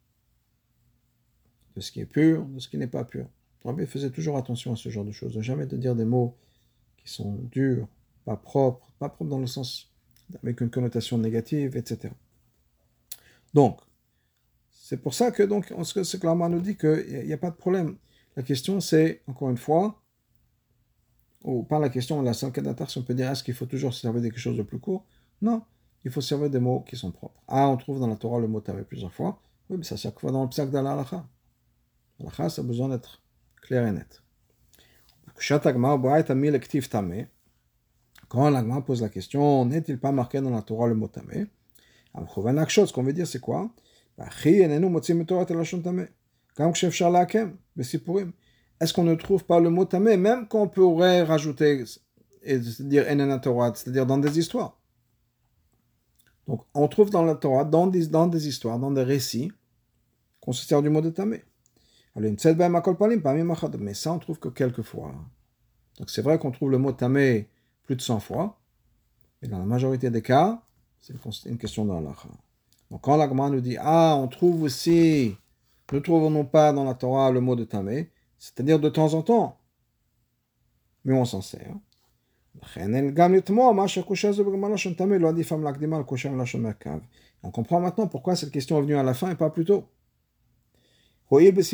De ce qui est pur, de ce qui n'est pas pur. Le rabbi faisait toujours attention à ce genre de choses. De jamais de dire des mots qui sont durs, pas propres dans le sens avec une connotation négative, etc. Donc, c'est pour ça que ce que l'Amar nous dit qu'il n'y a pas de problème. La question c'est, encore une fois, ou pas la question, la seule si on peut dire est-ce qu'il faut toujours se servir de quelque chose de plus court? Non, il faut servir des mots qui sont propres. On trouve dans la Torah le mot tamé plusieurs fois. Oui, mais ça chaque fois dans le psak d'Al-Halakha. L'Halakha, ça a besoin d'être clair et net. Quand l'Agma pose la question, n'est-il pas marqué dans la Torah le mot tamé? Ce qu'on veut dire, c'est quoi? Est-ce qu'on ne trouve pas le mot tamé, même qu'on pourrait rajouter et dire enena Torah, c'est-à-dire dans des histoires? Donc, on trouve dans la Torah, dans des histoires, dans des récits, qu'on se sert du mot de tamé. Mais ça, on trouve que quelques fois. Donc, c'est vrai qu'on trouve le mot tamé plus de 100 fois, Et dans la majorité des cas, c'est une question d'Halakha. Donc quand la Gemara nous dit, on trouve aussi, ne trouvons-nous pas dans la Torah le mot de tamé, c'est-à-dire de temps en temps, mais on s'en sert. On comprend maintenant pourquoi cette question est venue à la fin et pas plus tôt. Parce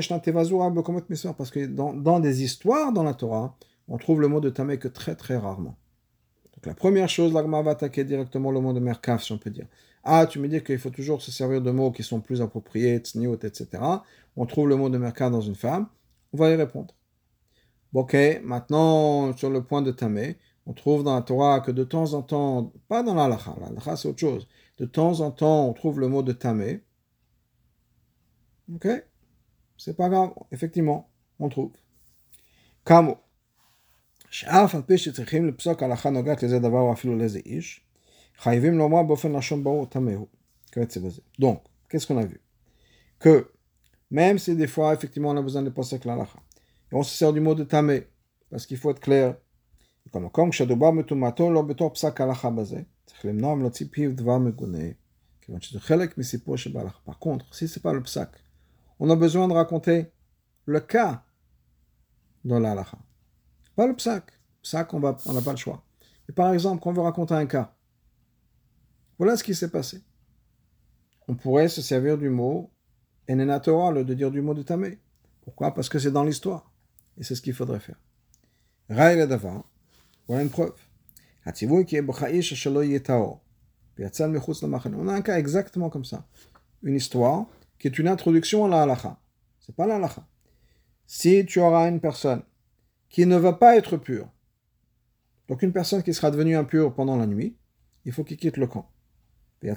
que dans des histoires dans la Torah, on trouve le mot de tamé que très très rarement. Donc la première chose, la Gemara va attaquer directement le mot de merkav, si on peut dire. Tu me dis qu'il faut toujours se servir de mots qui sont plus appropriés, tsniot, etc. On trouve le mot de merkav dans une femme, on va y répondre. Ok, maintenant, sur le point de tamé, on trouve dans la Torah que de temps en temps, pas dans l'halakha, l'halakha c'est autre chose, de temps en temps, on trouve le mot de tamé. Ok, c'est pas grave, effectivement, on trouve. Kamo. שאף על פי שצריכים לפסוק הלכה נוגעת לזה דבר או אפילו לאיזה איש, חייבים לומר באופן לשון ברור טמא הוא. Donc, qu'est-ce qu'on a vu? Que même si des fois, effectivement, on a besoin de passer la halakha, et on se sert du mot de tamé, parce qu'il faut être clair, comme כשדובר מטומאתו לא בתור פסק הלכה בזה, צריך למנוע מלהוציא פיו דבר מגונה, כיוון שזה חלק מסיפור שבהלכה. Par contre, si c'est pas le psak, on a besoin de raconter le cas dans la halakha. Pas le psak. Psak, on n'a pas le choix. Et par exemple, quand on veut raconter un cas, voilà ce qui s'est passé. On pourrait se servir du mot enena Torah, de dire du mot de tamé. Pourquoi? Parce que c'est dans l'histoire. Et c'est ce qu'il faudrait faire. Raï le davar, voilà une preuve. On a un cas exactement comme ça. Une histoire qui est une introduction à la halakha. C'est pas la halakha. Si tu auras une personne qui ne va pas être pure, donc une personne qui sera devenue impure pendant la nuit, il faut qu'il quitte le camp. Le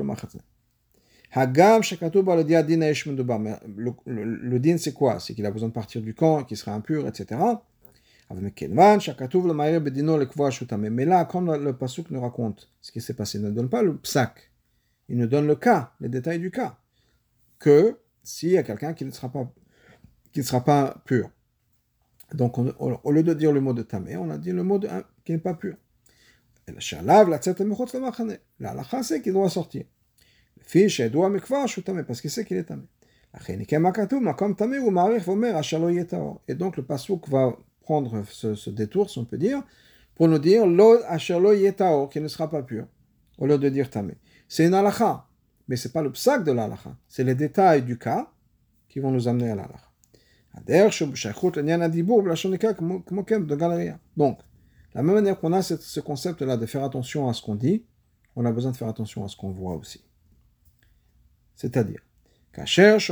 din c'est quoi? C'est qu'il a besoin de partir du camp, qu'il sera impur, etc. Mais là, quand le pasuk nous raconte ce qui s'est passé, il ne donne pas le psak, il nous donne le cas, les détails du cas, que s'il y a quelqu'un qui ne sera pas pur. Donc, au lieu de dire le mot de tamé, on a dit le mot qui n'est pas pur. La halakha, c'est qu'il doit sortir. Parce qu'il sait qu'il est tamé. Et donc, le pasuk va prendre ce détour, si on peut dire, pour nous dire lo asher lo yetaor, qui ne sera pas pur, au lieu de dire tamé. C'est une halakha, mais c'est pas le psak de la halakha, c'est les détails du cas qui vont nous amener à la halakha. Donc, la même manière qu'on a ce concept-là de faire attention à ce qu'on dit, on a besoin de faire attention à ce qu'on voit aussi. C'est-à-dire, quand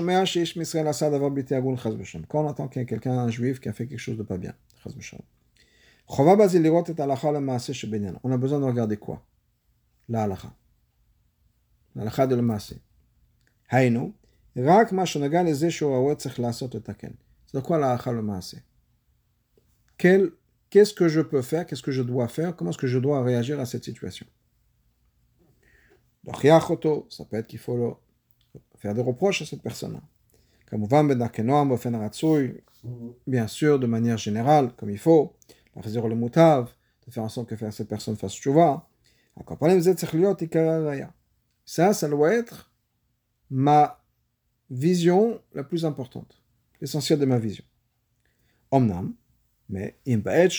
on entend qu'il y a quelqu'un, un juif, qui a fait quelque chose de pas bien, on a besoin de regarder quoi? La halakha. La halakha de l'maaseh. Haïnou, rak ma shonaga leze shorawet tzech lasot letaken. C'est quoi la halakha l'maaseh? Qu'est-ce que je peux faire? Qu'est-ce que je dois faire? Comment est-ce que je dois réagir à cette situation? Ça peut être qu'il faut faire des reproches à cette personne-là. Bien sûr, de manière générale, comme il faut, de faire en sorte que cette personne fasse tchouva. Ça doit être ma vision la plus importante, l'essentiel de ma vision. Omnam, mais maintenant,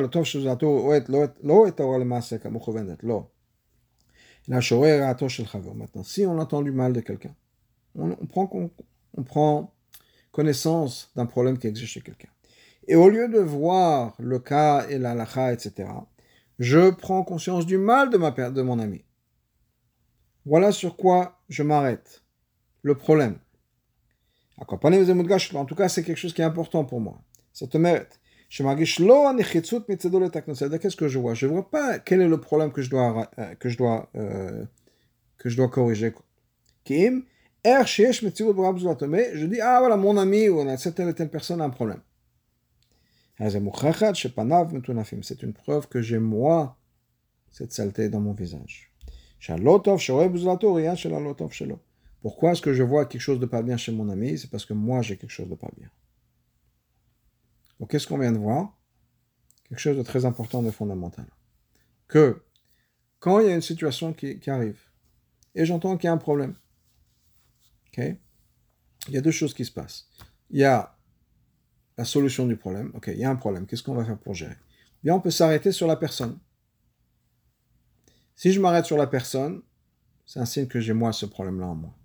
si on entend du mal de quelqu'un, on prend connaissance d'un problème qui existe chez quelqu'un. Et au lieu de voir le cas et la halakha, etc., je prends conscience du mal de mon ami. Voilà sur quoi je m'arrête. Le problème. En tout cas, c'est quelque chose qui est important pour moi. Ça te mérite. Qu'est-ce que je vois? Je ne vois pas quel est le problème que je dois corriger. Mais je dis, voilà, mon ami ou cette telle et telle personne a un problème. C'est une preuve que j'ai, moi, cette saleté dans mon visage. Pourquoi est-ce que je vois quelque chose de pas bien chez mon ami? C'est parce que moi, j'ai quelque chose de pas bien. Donc, qu'est-ce qu'on vient de voir? Quelque chose de très important, de fondamental. Que quand il y a une situation qui arrive, et j'entends qu'il y a un problème, ok, il y a deux choses qui se passent. Il y a la solution du problème. Ok, il y a un problème. Qu'est-ce qu'on va faire pour gérer? Bien, on peut s'arrêter sur la personne. Si je m'arrête sur la personne, c'est un signe que j'ai moi ce problème-là en moi.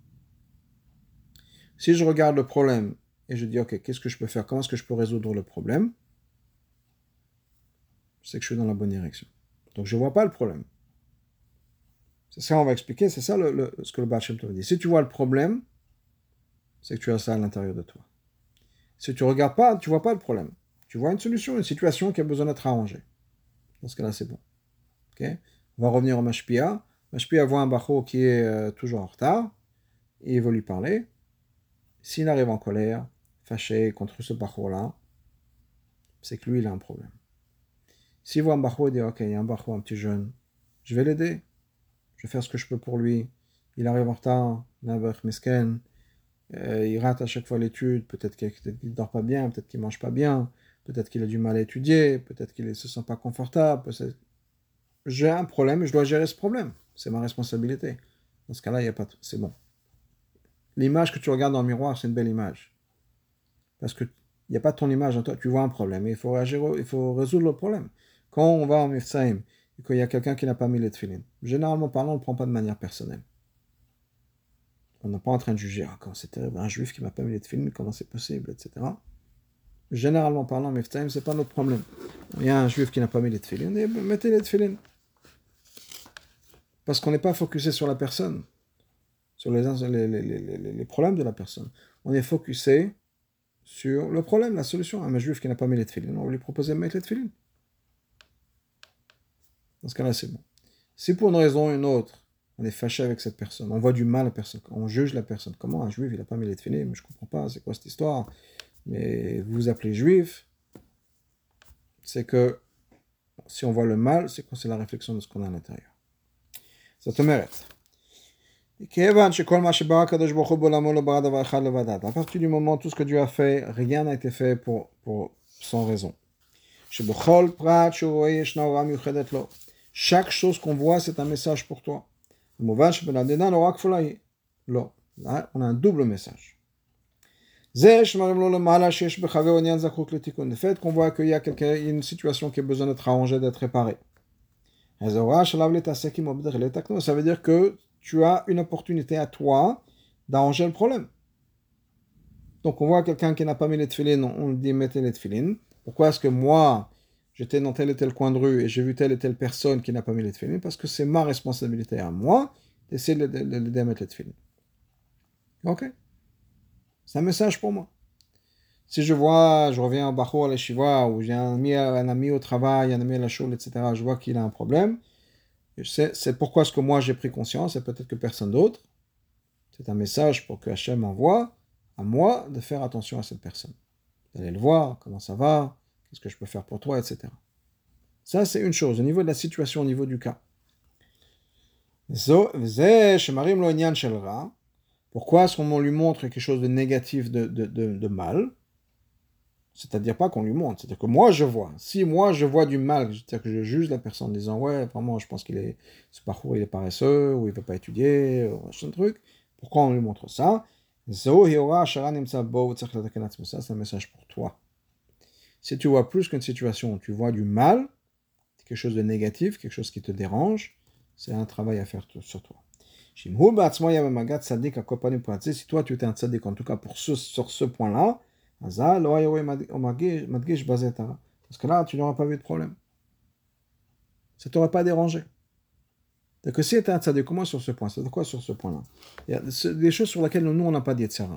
Si je regarde le problème et je dis, ok, qu'est-ce que je peux faire? Comment est-ce que je peux résoudre le problème? C'est que je suis dans la bonne direction. Donc, je ne vois pas le problème. C'est ça, on va expliquer. C'est ça ce que le Baal Shem Tov dit. Si tu vois le problème, c'est que tu as ça à l'intérieur de toi. Si tu ne regardes pas, tu ne vois pas le problème. Tu vois une solution, une situation qui a besoin d'être arrangée. Dans ce cas-là, c'est bon. Okay? On va revenir au Mashpia. Mashpia voit un Bacho qui est toujours en retard. Et il veut lui parler. S'il arrive en colère, fâché contre ce Bacho-là, c'est que lui, il a un problème. S'il voit un Bacho, il dit, ok, il y a un Bacho, un petit jeune, je vais l'aider. Je vais faire ce que je peux pour lui. Il arrive en retard, Nabach Misken, il rate à chaque fois l'étude, peut-être qu'il ne dort pas bien, peut-être qu'il ne mange pas bien, peut-être qu'il a du mal à étudier, peut-être qu'il ne se sent pas confortable. J'ai un problème et je dois gérer ce problème. C'est ma responsabilité. Dans ce cas-là, il y a pas c'est bon. L'image que tu regardes dans le miroir, c'est une belle image. Parce que il n'y a pas ton image en toi, tu vois un problème et il faut réagir, il faut résoudre le problème. Quand on va en Mifsaïm et qu'il y a quelqu'un qui n'a pas mis les tefillin, généralement parlant, on ne le prend pas de manière personnelle. On n'est pas en train de juger, ah, quand c'est terrible, un juif qui m'a pas mis les tefillin, comment c'est possible, etc. Généralement parlant, Mifsaïm, c'est pas notre problème. Il y a un juif qui n'a pas mis les tefillin, et mettez les tefillin. Parce qu'on n'est pas focusé sur la personne, sur les problèmes de la personne. On est focusé sur le problème, la solution. Un juif qui n'a pas mis les tefillin, on va lui proposer de mettre les tefillin. Dans ce cas-là, c'est bon. Si pour une raison ou une autre, on est fâché avec cette personne, on voit du mal à la personne, on juge la personne. Comment un juif, il n'a pas mis les tefillin? Mais je ne comprends pas, c'est quoi cette histoire? Mais vous vous appelez juif, c'est que si on voit le mal, c'est que c'est la réflexion de ce qu'on a à l'intérieur. Ça te mérite. À partir du moment où tout ce que Dieu a fait, rien n'a été fait sans raison. Chaque chose qu'on voit, c'est un message pour toi. Là, on a un double message. Le fait qu'on voit qu'il y a une situation qui a besoin d'être arrangée, d'être réparée. Ça veut dire que tu as une opportunité à toi d'arranger le problème. Donc on voit quelqu'un qui n'a pas mis les tefillin, on lui dit mettez les tefillin. Pourquoi est-ce que moi, j'étais dans tel et tel coin de rue et j'ai vu telle et telle personne qui n'a pas mis les tefillin? Parce que c'est ma responsabilité à moi d'essayer de l'aider à mettre les tefillin. Ok? C'est un message pour moi. Si je reviens au Bachour, à la Shiva, ou j'ai un ami au travail, un ami à la choule, etc., je vois qu'il a un problème, c'est pourquoi est-ce que moi j'ai pris conscience, et peut-être que personne d'autre. C'est un message pour que Hachem envoie à moi de faire attention à cette personne. D'aller le voir, comment ça va, qu'est-ce que je peux faire pour toi, etc. Ça, c'est une chose, au niveau de la situation, au niveau du cas. Pourquoi est-ce qu'on lui montre quelque chose de négatif, de mal? C'est-à-dire pas qu'on lui montre, c'est-à-dire que moi je vois. Si moi je vois du mal, c'est-à-dire que je juge la personne en disant ouais, vraiment je pense ce parcours il est paresseux, ou il ne veut pas étudier, ou machin truc. Pourquoi on lui montre ça? Ça, c'est un message pour toi. Si tu vois plus qu'une situation où tu vois du mal, quelque chose de négatif, quelque chose qui te dérange, c'est un travail à faire sur toi. Si toi tu étais un tzaddik, en tout cas sur ce point-là, parce que là, tu n'auras pas vu de problème. Ça ne t'aurait pas dérangé. Donc, si tu es un tzaddik, comment sur ce point? C'est quoi sur ce point-là? Il y a des choses sur lesquelles nous, on n'a pas d'Yetzirah.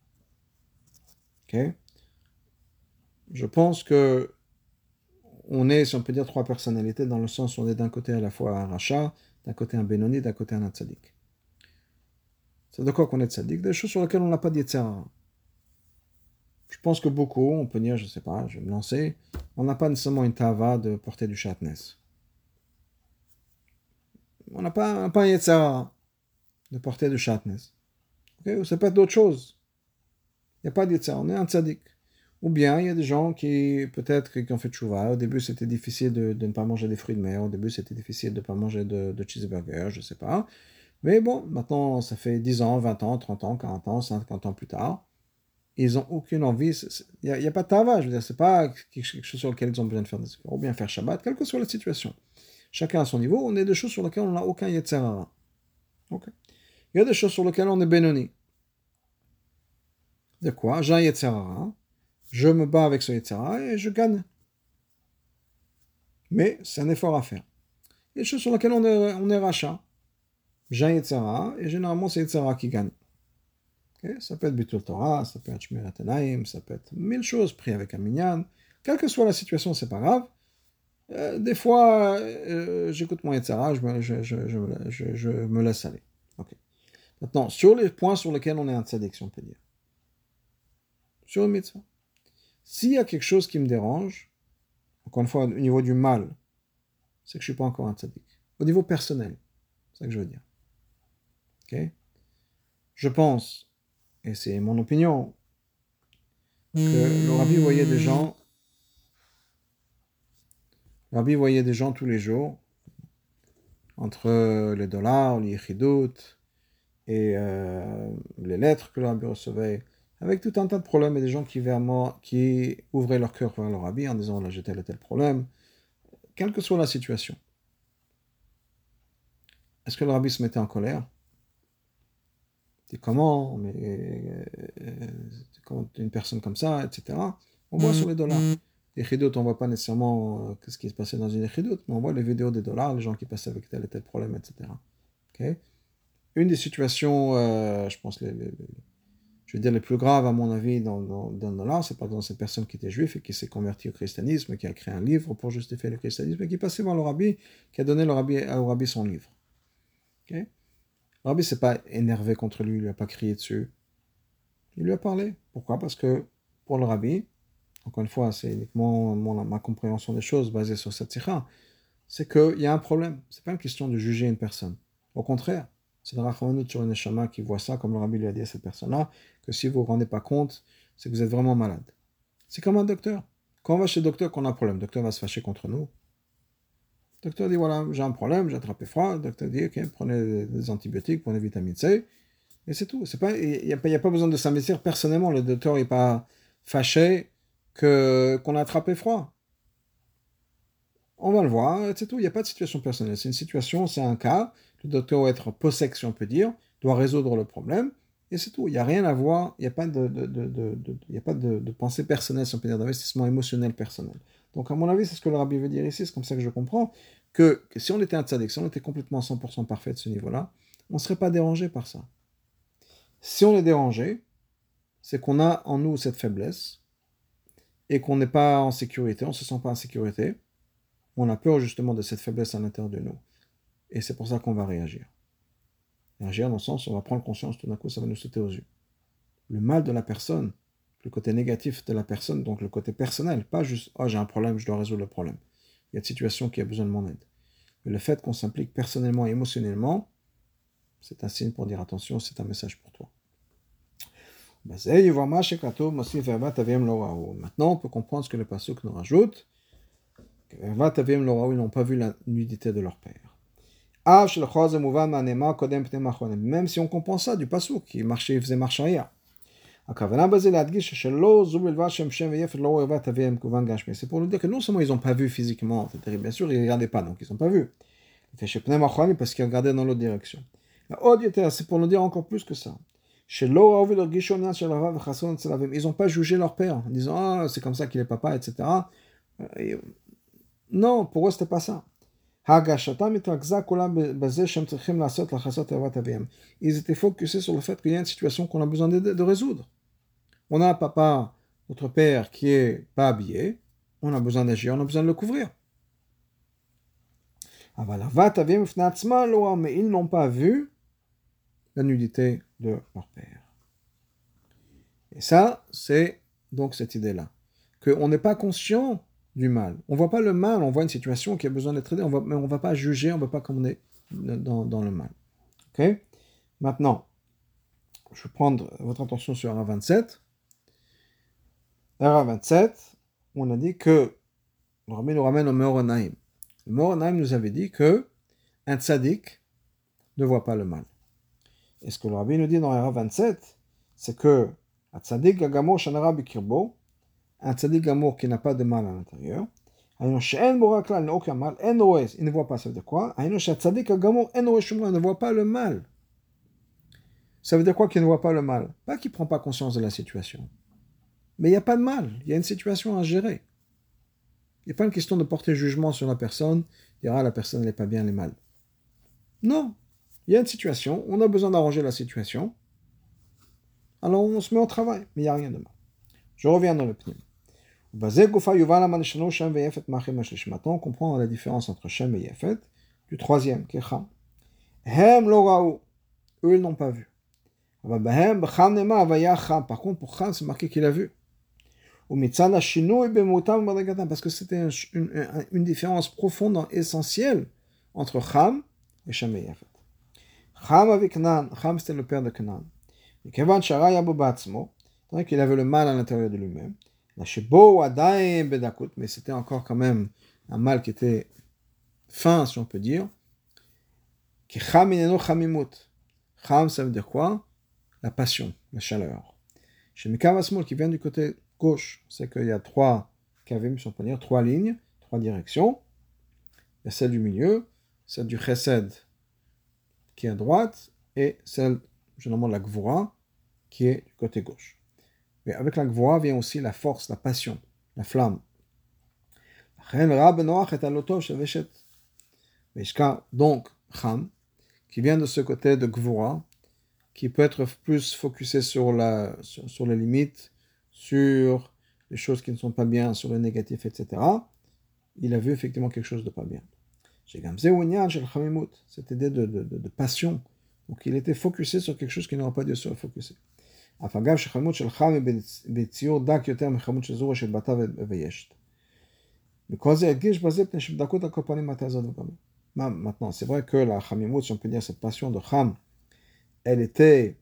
Ok? Je pense que on est, si on peut dire, trois personnalités, dans le sens où on est d'un côté à la fois un rachat, d'un côté un Benoni, d'un côté un tzaddik. C'est de quoi qu'on est tzaddik? Des choses sur lesquelles on n'a pas d'Yetzirah. Je pense que beaucoup, on peut dire, je ne sais pas, je vais me lancer, on n'a pas nécessairement une tava de porter du shatnez. On n'a pas un yetzara de porter du shatnez. Okay? Ou ça peut être d'autres choses. Il n'y a pas de yetzara, on est un tzaddik. Ou bien, il y a des gens peut-être, qui ont fait tchouva. Au début, c'était difficile de ne pas manger des fruits de mer. Au début, c'était difficile de ne pas manger de cheeseburger, je ne sais pas. Mais bon, maintenant, ça fait 10 ans, 20 ans, 30 ans, 40 ans, 50 ans plus tard. Ils n'ont aucune envie. Il n'y a pas de tava, je veux dire, c'est pas quelque chose sur lequel ils ont besoin de faire des efforts. Ou bien faire Shabbat, quelle que soit la situation. Chacun à son niveau, on est des choses sur lesquelles on n'a aucun Yetzerara. Okay. Il y a des choses sur lesquelles on est Benoni. De quoi? J'ai un Yetzerara, je me bats avec ce Yetzerara et je gagne. Mais c'est un effort à faire. Il y a des choses sur lesquelles on est rachat. J'ai un Yetzerara et généralement c'est Yetzerara qui gagne. Okay? Ça peut être Bitul Torah, ça peut être Shmirat Enaim, ça peut être mille choses, pris avec un minyan. Quelle que soit la situation, c'est pas grave. Des fois, j'écoute mon Yetzirah, je me laisse aller. Okay. Maintenant, sur les points sur lesquels on est un tzaddik, si on peut dire, sur le mitzvah, s'il y a quelque chose qui me dérange, encore une fois, au niveau du mal, c'est que je ne suis pas encore un tzaddik. Au niveau personnel, c'est ça que je veux dire. Okay. Je pense, et c'est mon opinion, que le Rabbi voyait des gens tous les jours, entre les dollars, les yichidot, et les lettres que le rabbi recevait, avec tout un tas de problèmes, et des gens qui ouvraient leur cœur vers le rabbi en disant là j'ai tel et tel problème, quelle que soit la situation. Est-ce que le rabbi se mettait en colère? C'est comment, mais comment une personne comme ça, etc. On voit sur les dollars. Les chidot, on ne voit pas nécessairement ce qui se passait dans une chidot, mais on voit les vidéos des dollars, les gens qui passaient avec tel et tel problème, etc. Okay. Une des situations, je pense, je veux dire, les plus graves, à mon avis, dans le dollar, c'est par exemple cette personne qui était juive et qui s'est convertie au christianisme, qui a créé un livre pour justifier le christianisme, et qui passait voir le rabbi, qui a donné au rabbi son livre. Okay. Le rabbi ne s'est pas énervé contre lui, il ne lui a pas crié dessus. Il lui a parlé. Pourquoi? Parce que pour le rabbi, encore une fois, c'est uniquement ma compréhension des choses basée sur cette sikha, c'est qu'il y a un problème. Ce n'est pas une question de juger une personne. Au contraire, c'est le rachamanout sur une neshama qui voit ça, comme le rabbi lui a dit à cette personne-là, que si vous ne vous rendez pas compte, c'est que vous êtes vraiment malade. C'est comme un docteur. Quand on va chez le docteur qu'on a un problème, le docteur va se fâcher contre nous. Le docteur dit, voilà, j'ai un problème, j'ai attrapé froid. Le docteur dit, ok, prenez des antibiotiques, prenez vitamine C, et c'est tout. Il n'y a pas besoin de s'investir personnellement. Le docteur n'est pas fâché qu'on a attrapé froid. On va le voir, c'est tout. Il n'y a pas de situation personnelle. C'est une situation, c'est un cas. Le docteur doit être possèque, si on peut dire, doit résoudre le problème, et c'est tout. Il n'y a rien à voir, il n'y a pas il y a pas de pensée personnelle, si on peut dire, d'investissement émotionnel personnel. Donc, à mon avis, c'est ce que le rabbi veut dire ici, c'est comme ça que je comprends, que si on était un tzaddik, si on était complètement 100% parfait de ce niveau-là, on ne serait pas dérangé par ça. Si on est dérangé, c'est qu'on a en nous cette faiblesse, et qu'on n'est pas en sécurité, on ne se sent pas en sécurité, on a peur justement de cette faiblesse à l'intérieur de nous. Et c'est pour ça qu'on va réagir. Réagir dans le sens où on va prendre conscience, tout d'un coup, ça va nous sauter aux yeux. Le mal de la personne, le côté négatif de la personne, donc le côté personnel, pas juste « Ah, j'ai un problème, je dois résoudre le problème. Il y a une situation qui a besoin de mon aide. » Mais le fait qu'on s'implique personnellement et émotionnellement, c'est un signe pour dire « Attention, c'est un message pour toi. » Maintenant, on peut comprendre ce que le pasuk nous rajoute. Ils n'ont pas vu la nudité de leur père. Même si on comprend ça du pasuk qui marchait, il faisait marche arrière. C'est pour nous dire que non seulement ils n'ont pas vu physiquement, bien sûr ils ne regardaient pas, donc ils n'ont pas vu. Parce qu'ils regardaient dans l'autre direction. C'est pour nous dire encore plus que ça. Ils n'ont pas jugé leur père en disant ah, c'est comme ça qu'il est papa, etc. Non, pour eux, c'était pas ça. Ils étaient focusés sur le fait qu'il y a une situation qu'on a besoin de résoudre. On a un papa, notre père, qui est pas habillé. On a besoin d'agir, on a besoin de le couvrir. Mais ils n'ont pas vu la nudité de leur père. Et ça, c'est donc cette idée-là. Qu'on n'est pas conscient du mal. On ne voit pas le mal, on voit une situation qui a besoin d'être aidée, mais on ne va pas juger, on ne va pas commander dans le mal. Okay. Maintenant, je vais prendre votre attention sur un 27. Vers 27, on a dit que le Rabbi nous ramène au Meor Naim. Le Meor Naim nous avait dit que un tzaddik ne voit pas le mal. Et ce que le Rabbi nous dit dans Ra 27, c'est que un tzaddik gagamor shanara bikirbo, un tzaddik gamour qui n'a pas de mal à l'intérieur, il n'a aucun mal, il ne voit pas, ça veut dire quoi? Il ne voit pas le mal. Ça veut dire quoi qu'il ne voit pas le mal? Pas qu'il ne prend pas conscience de la situation. Mais il n'y a pas de mal, il y a une situation à gérer. Il n'y a pas une question de porter jugement sur la personne, dire ah la personne n'est pas bien, elle est mal. Non, il y a une situation, on a besoin d'arranger la situation, alors on se met au travail, mais il n'y a rien de mal. Je reviens dans le pnim. Maintenant, on comprend la différence entre Shem et Yefet, du troisième, qui est Cham. Hem lo raou, eux ils n'ont pas vu. Par contre, pour Cham, c'est marqué qu'il a vu. Parce que c'était une différence profonde et essentielle entre Cham et Shem et Yefet. Cham avec Canaan, Cham c'était le père de Canaan. Et Kevan Shara Yabo Batzmo, tant qu'il avait le mal à l'intérieur de lui-même. Mais c'était encore quand même un mal qui était fin, si on peut dire. Cham, ça veut dire quoi? La passion, la chaleur. Chez Mekavasmol, qui vient du côté gauche, c'est qu'il y a trois kavim, si on peut dire, trois lignes, trois directions. Il y a celle du milieu, celle du chesed, qui est à droite, et celle, généralement, de la gvura, qui est du côté gauche. Mais avec la gvura vient aussi la force, la passion, la flamme. Donc, Cham, qui vient de ce côté de gvura, qui peut être plus focusé sur les limites, sur les choses qui ne sont pas bien, sur le négatif, etc. Il a vu effectivement quelque chose de pas bien. Cette idée de passion. Donc il était focusé sur quelque chose qui n'aurait pas dû se focuser. Maintenant, c'est vrai que la chamimut, si on peut dire cette passion de Cham, elle était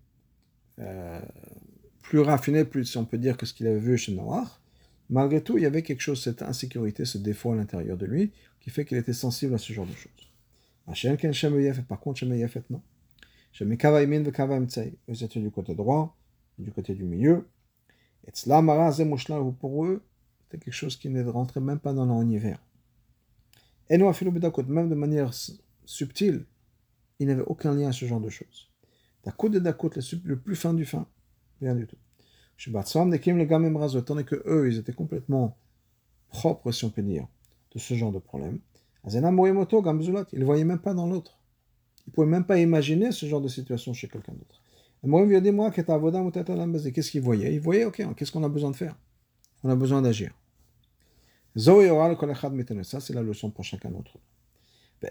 plus raffinée, plus, si on peut dire, que ce qu'il avait vu chez Noach. Malgré tout, il y avait quelque chose, cette insécurité, ce défaut à l'intérieur de lui, qui fait qu'il était sensible à ce genre de choses. Par contre, Shem Yefet, non. Shem Kava Imin ve Kava Imtsei. Eux étaient du côté droit, du côté du milieu. Et Tzlamara Zemushla, pour eux, c'était quelque chose qui ne rentrait même pas dans leur univers. Et nous, même de manière subtile, il n'avait aucun lien à ce genre de choses. Dakot de Dakot, le plus fin du fin, rien du tout. Tandis que eux, ils étaient complètement propres, si on peut dire, de ce genre de problème. Ils ne voyaient même pas dans l'autre. Ils ne pouvaient même pas imaginer ce genre de situation chez quelqu'un d'autre. Qu'est-ce qu'ils voyaient? Ils voyaient, ok, qu'est-ce qu'on a besoin de faire? On a besoin d'agir. Ça, c'est la leçon pour chacun d'entre nous.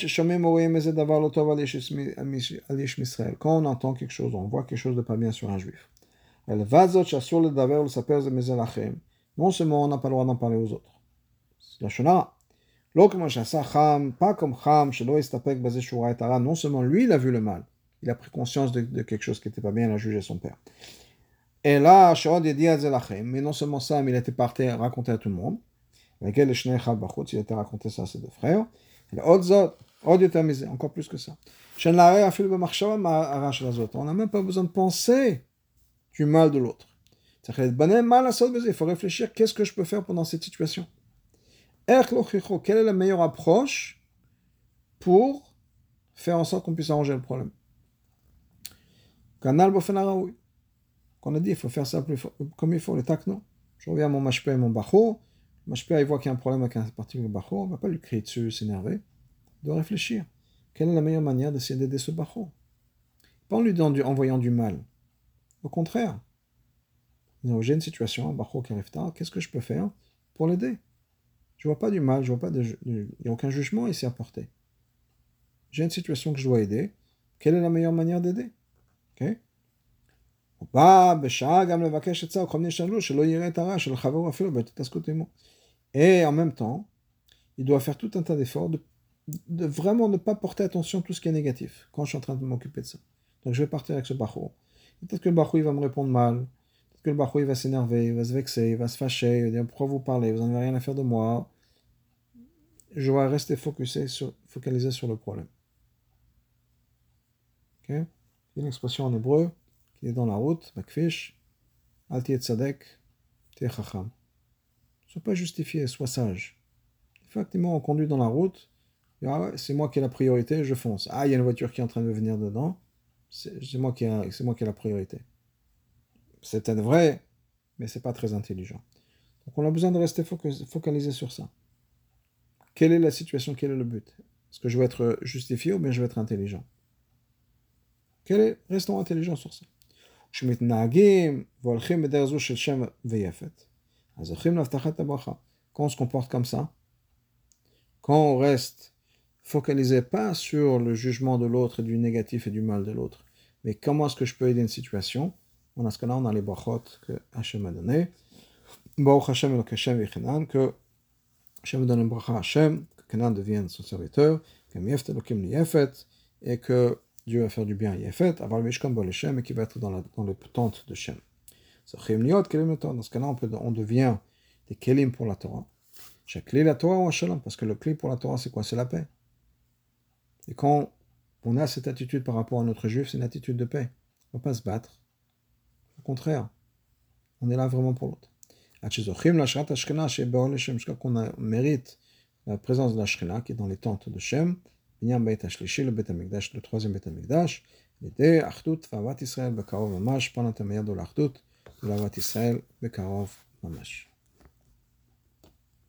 Quand on entend quelque chose, on voit quelque chose de pas bien sur un juif. Non seulement on n'a pas le droit d'en parler aux autres. La Shona. Pas comme Cham, non seulement lui, il a vu le mal, il a pris conscience de quelque chose qui n'était pas bien, il a jugé son père. Et là, mais non seulement ça, mais il était parti raconter à tout le monde. Il était raconté ça à ses deux frères. Encore plus que ça. On n'a même pas besoin de penser du mal de l'autre. Il faut réfléchir, qu'est-ce que je peux faire pendant cette situation? Quelle est la meilleure approche pour faire en sorte qu'on puisse arranger le problème? Qu'on a dit, il faut faire ça comme il faut, le takno. Je reviens à mon mashpé et mon bachor. Le mashpé, il voit qu'il y a un problème avec un particulier bachor, on ne va pas lui crier dessus, s'énerver. Il doit réfléchir. Quelle est la meilleure manière d'essayer d'aider ce bachor? Pas en lui envoyant du mal. Au contraire. J'ai une situation, un bachor qui arrive tard, qu'est-ce que je peux faire pour l'aider? Je ne vois pas du mal, il n'y a aucun jugement ici à porter. J'ai une situation que je dois aider. Quelle est la meilleure manière d'aider? Ok? Et en même temps, il doit faire tout un tas d'efforts de vraiment ne pas porter attention à tout ce qui est négatif quand je suis en train de m'occuper de ça. Donc je vais partir avec ce bachou. Peut-être que le bachou il va me répondre mal. Peut-être que le Bachoui va s'énerver, il va se vexer, il va se fâcher, il va dire pourquoi vous parlez, vous n'en avez rien à faire de moi. Je dois rester focalisé sur le problème. Ok? Il y a une expression en hébreu qui est dans la route, bakfish, al tiet tzadek, tiet chacham. Ne sois pas justifié, sois sage. Effectivement, on conduit dans la route, c'est moi qui ai la priorité, je fonce. Ah, il y a une voiture qui est en train de venir dedans, c'est moi qui ai la priorité. C'est peut-être vrai, mais c'est pas très intelligent. Donc on a besoin de rester focalisé sur ça. Quelle est la situation, quel est le but? Est-ce que je veux être justifié ou bien je veux être intelligent? Restons intelligents sur ça. Quand on se comporte comme ça, quand on reste focalisé pas sur le jugement de l'autre et du négatif et du mal de l'autre, mais comment est-ce que je peux aider une situation, dans ce cas-là, on a les brachot que Hachem a donné. Baruch Hashem Elok Hashem Yechinan, que Hashem donne une bracha à Hashem, que Kenan devienne son serviteur, que Miefet Elokim Yefet, et que Dieu va faire du bien à Yefet, avoir le Mishkan Bol Hashem, et qui va être dans le tente de Shem. Dans ce cas-là, on devient des kelim pour la Torah. Chaque clé la Torah ou Shalom, parce que le clé pour la Torah, c'est quoi? C'est la paix. Et quand on a cette attitude par rapport à notre juif, c'est une attitude de paix. On ne va pas se battre. Au contraire, on est là vraiment pour l'autre. Jusqu'à qu'on mérite la présence de la Shekhinah qui est dans les tentes de Shem, le troisième Beit HaMikdash, l'idée Achdut Vavat Israël Bekarov Mamash, par l'intermédiaire de l'Achdut de la Vavat Israël Bekarov Mamash.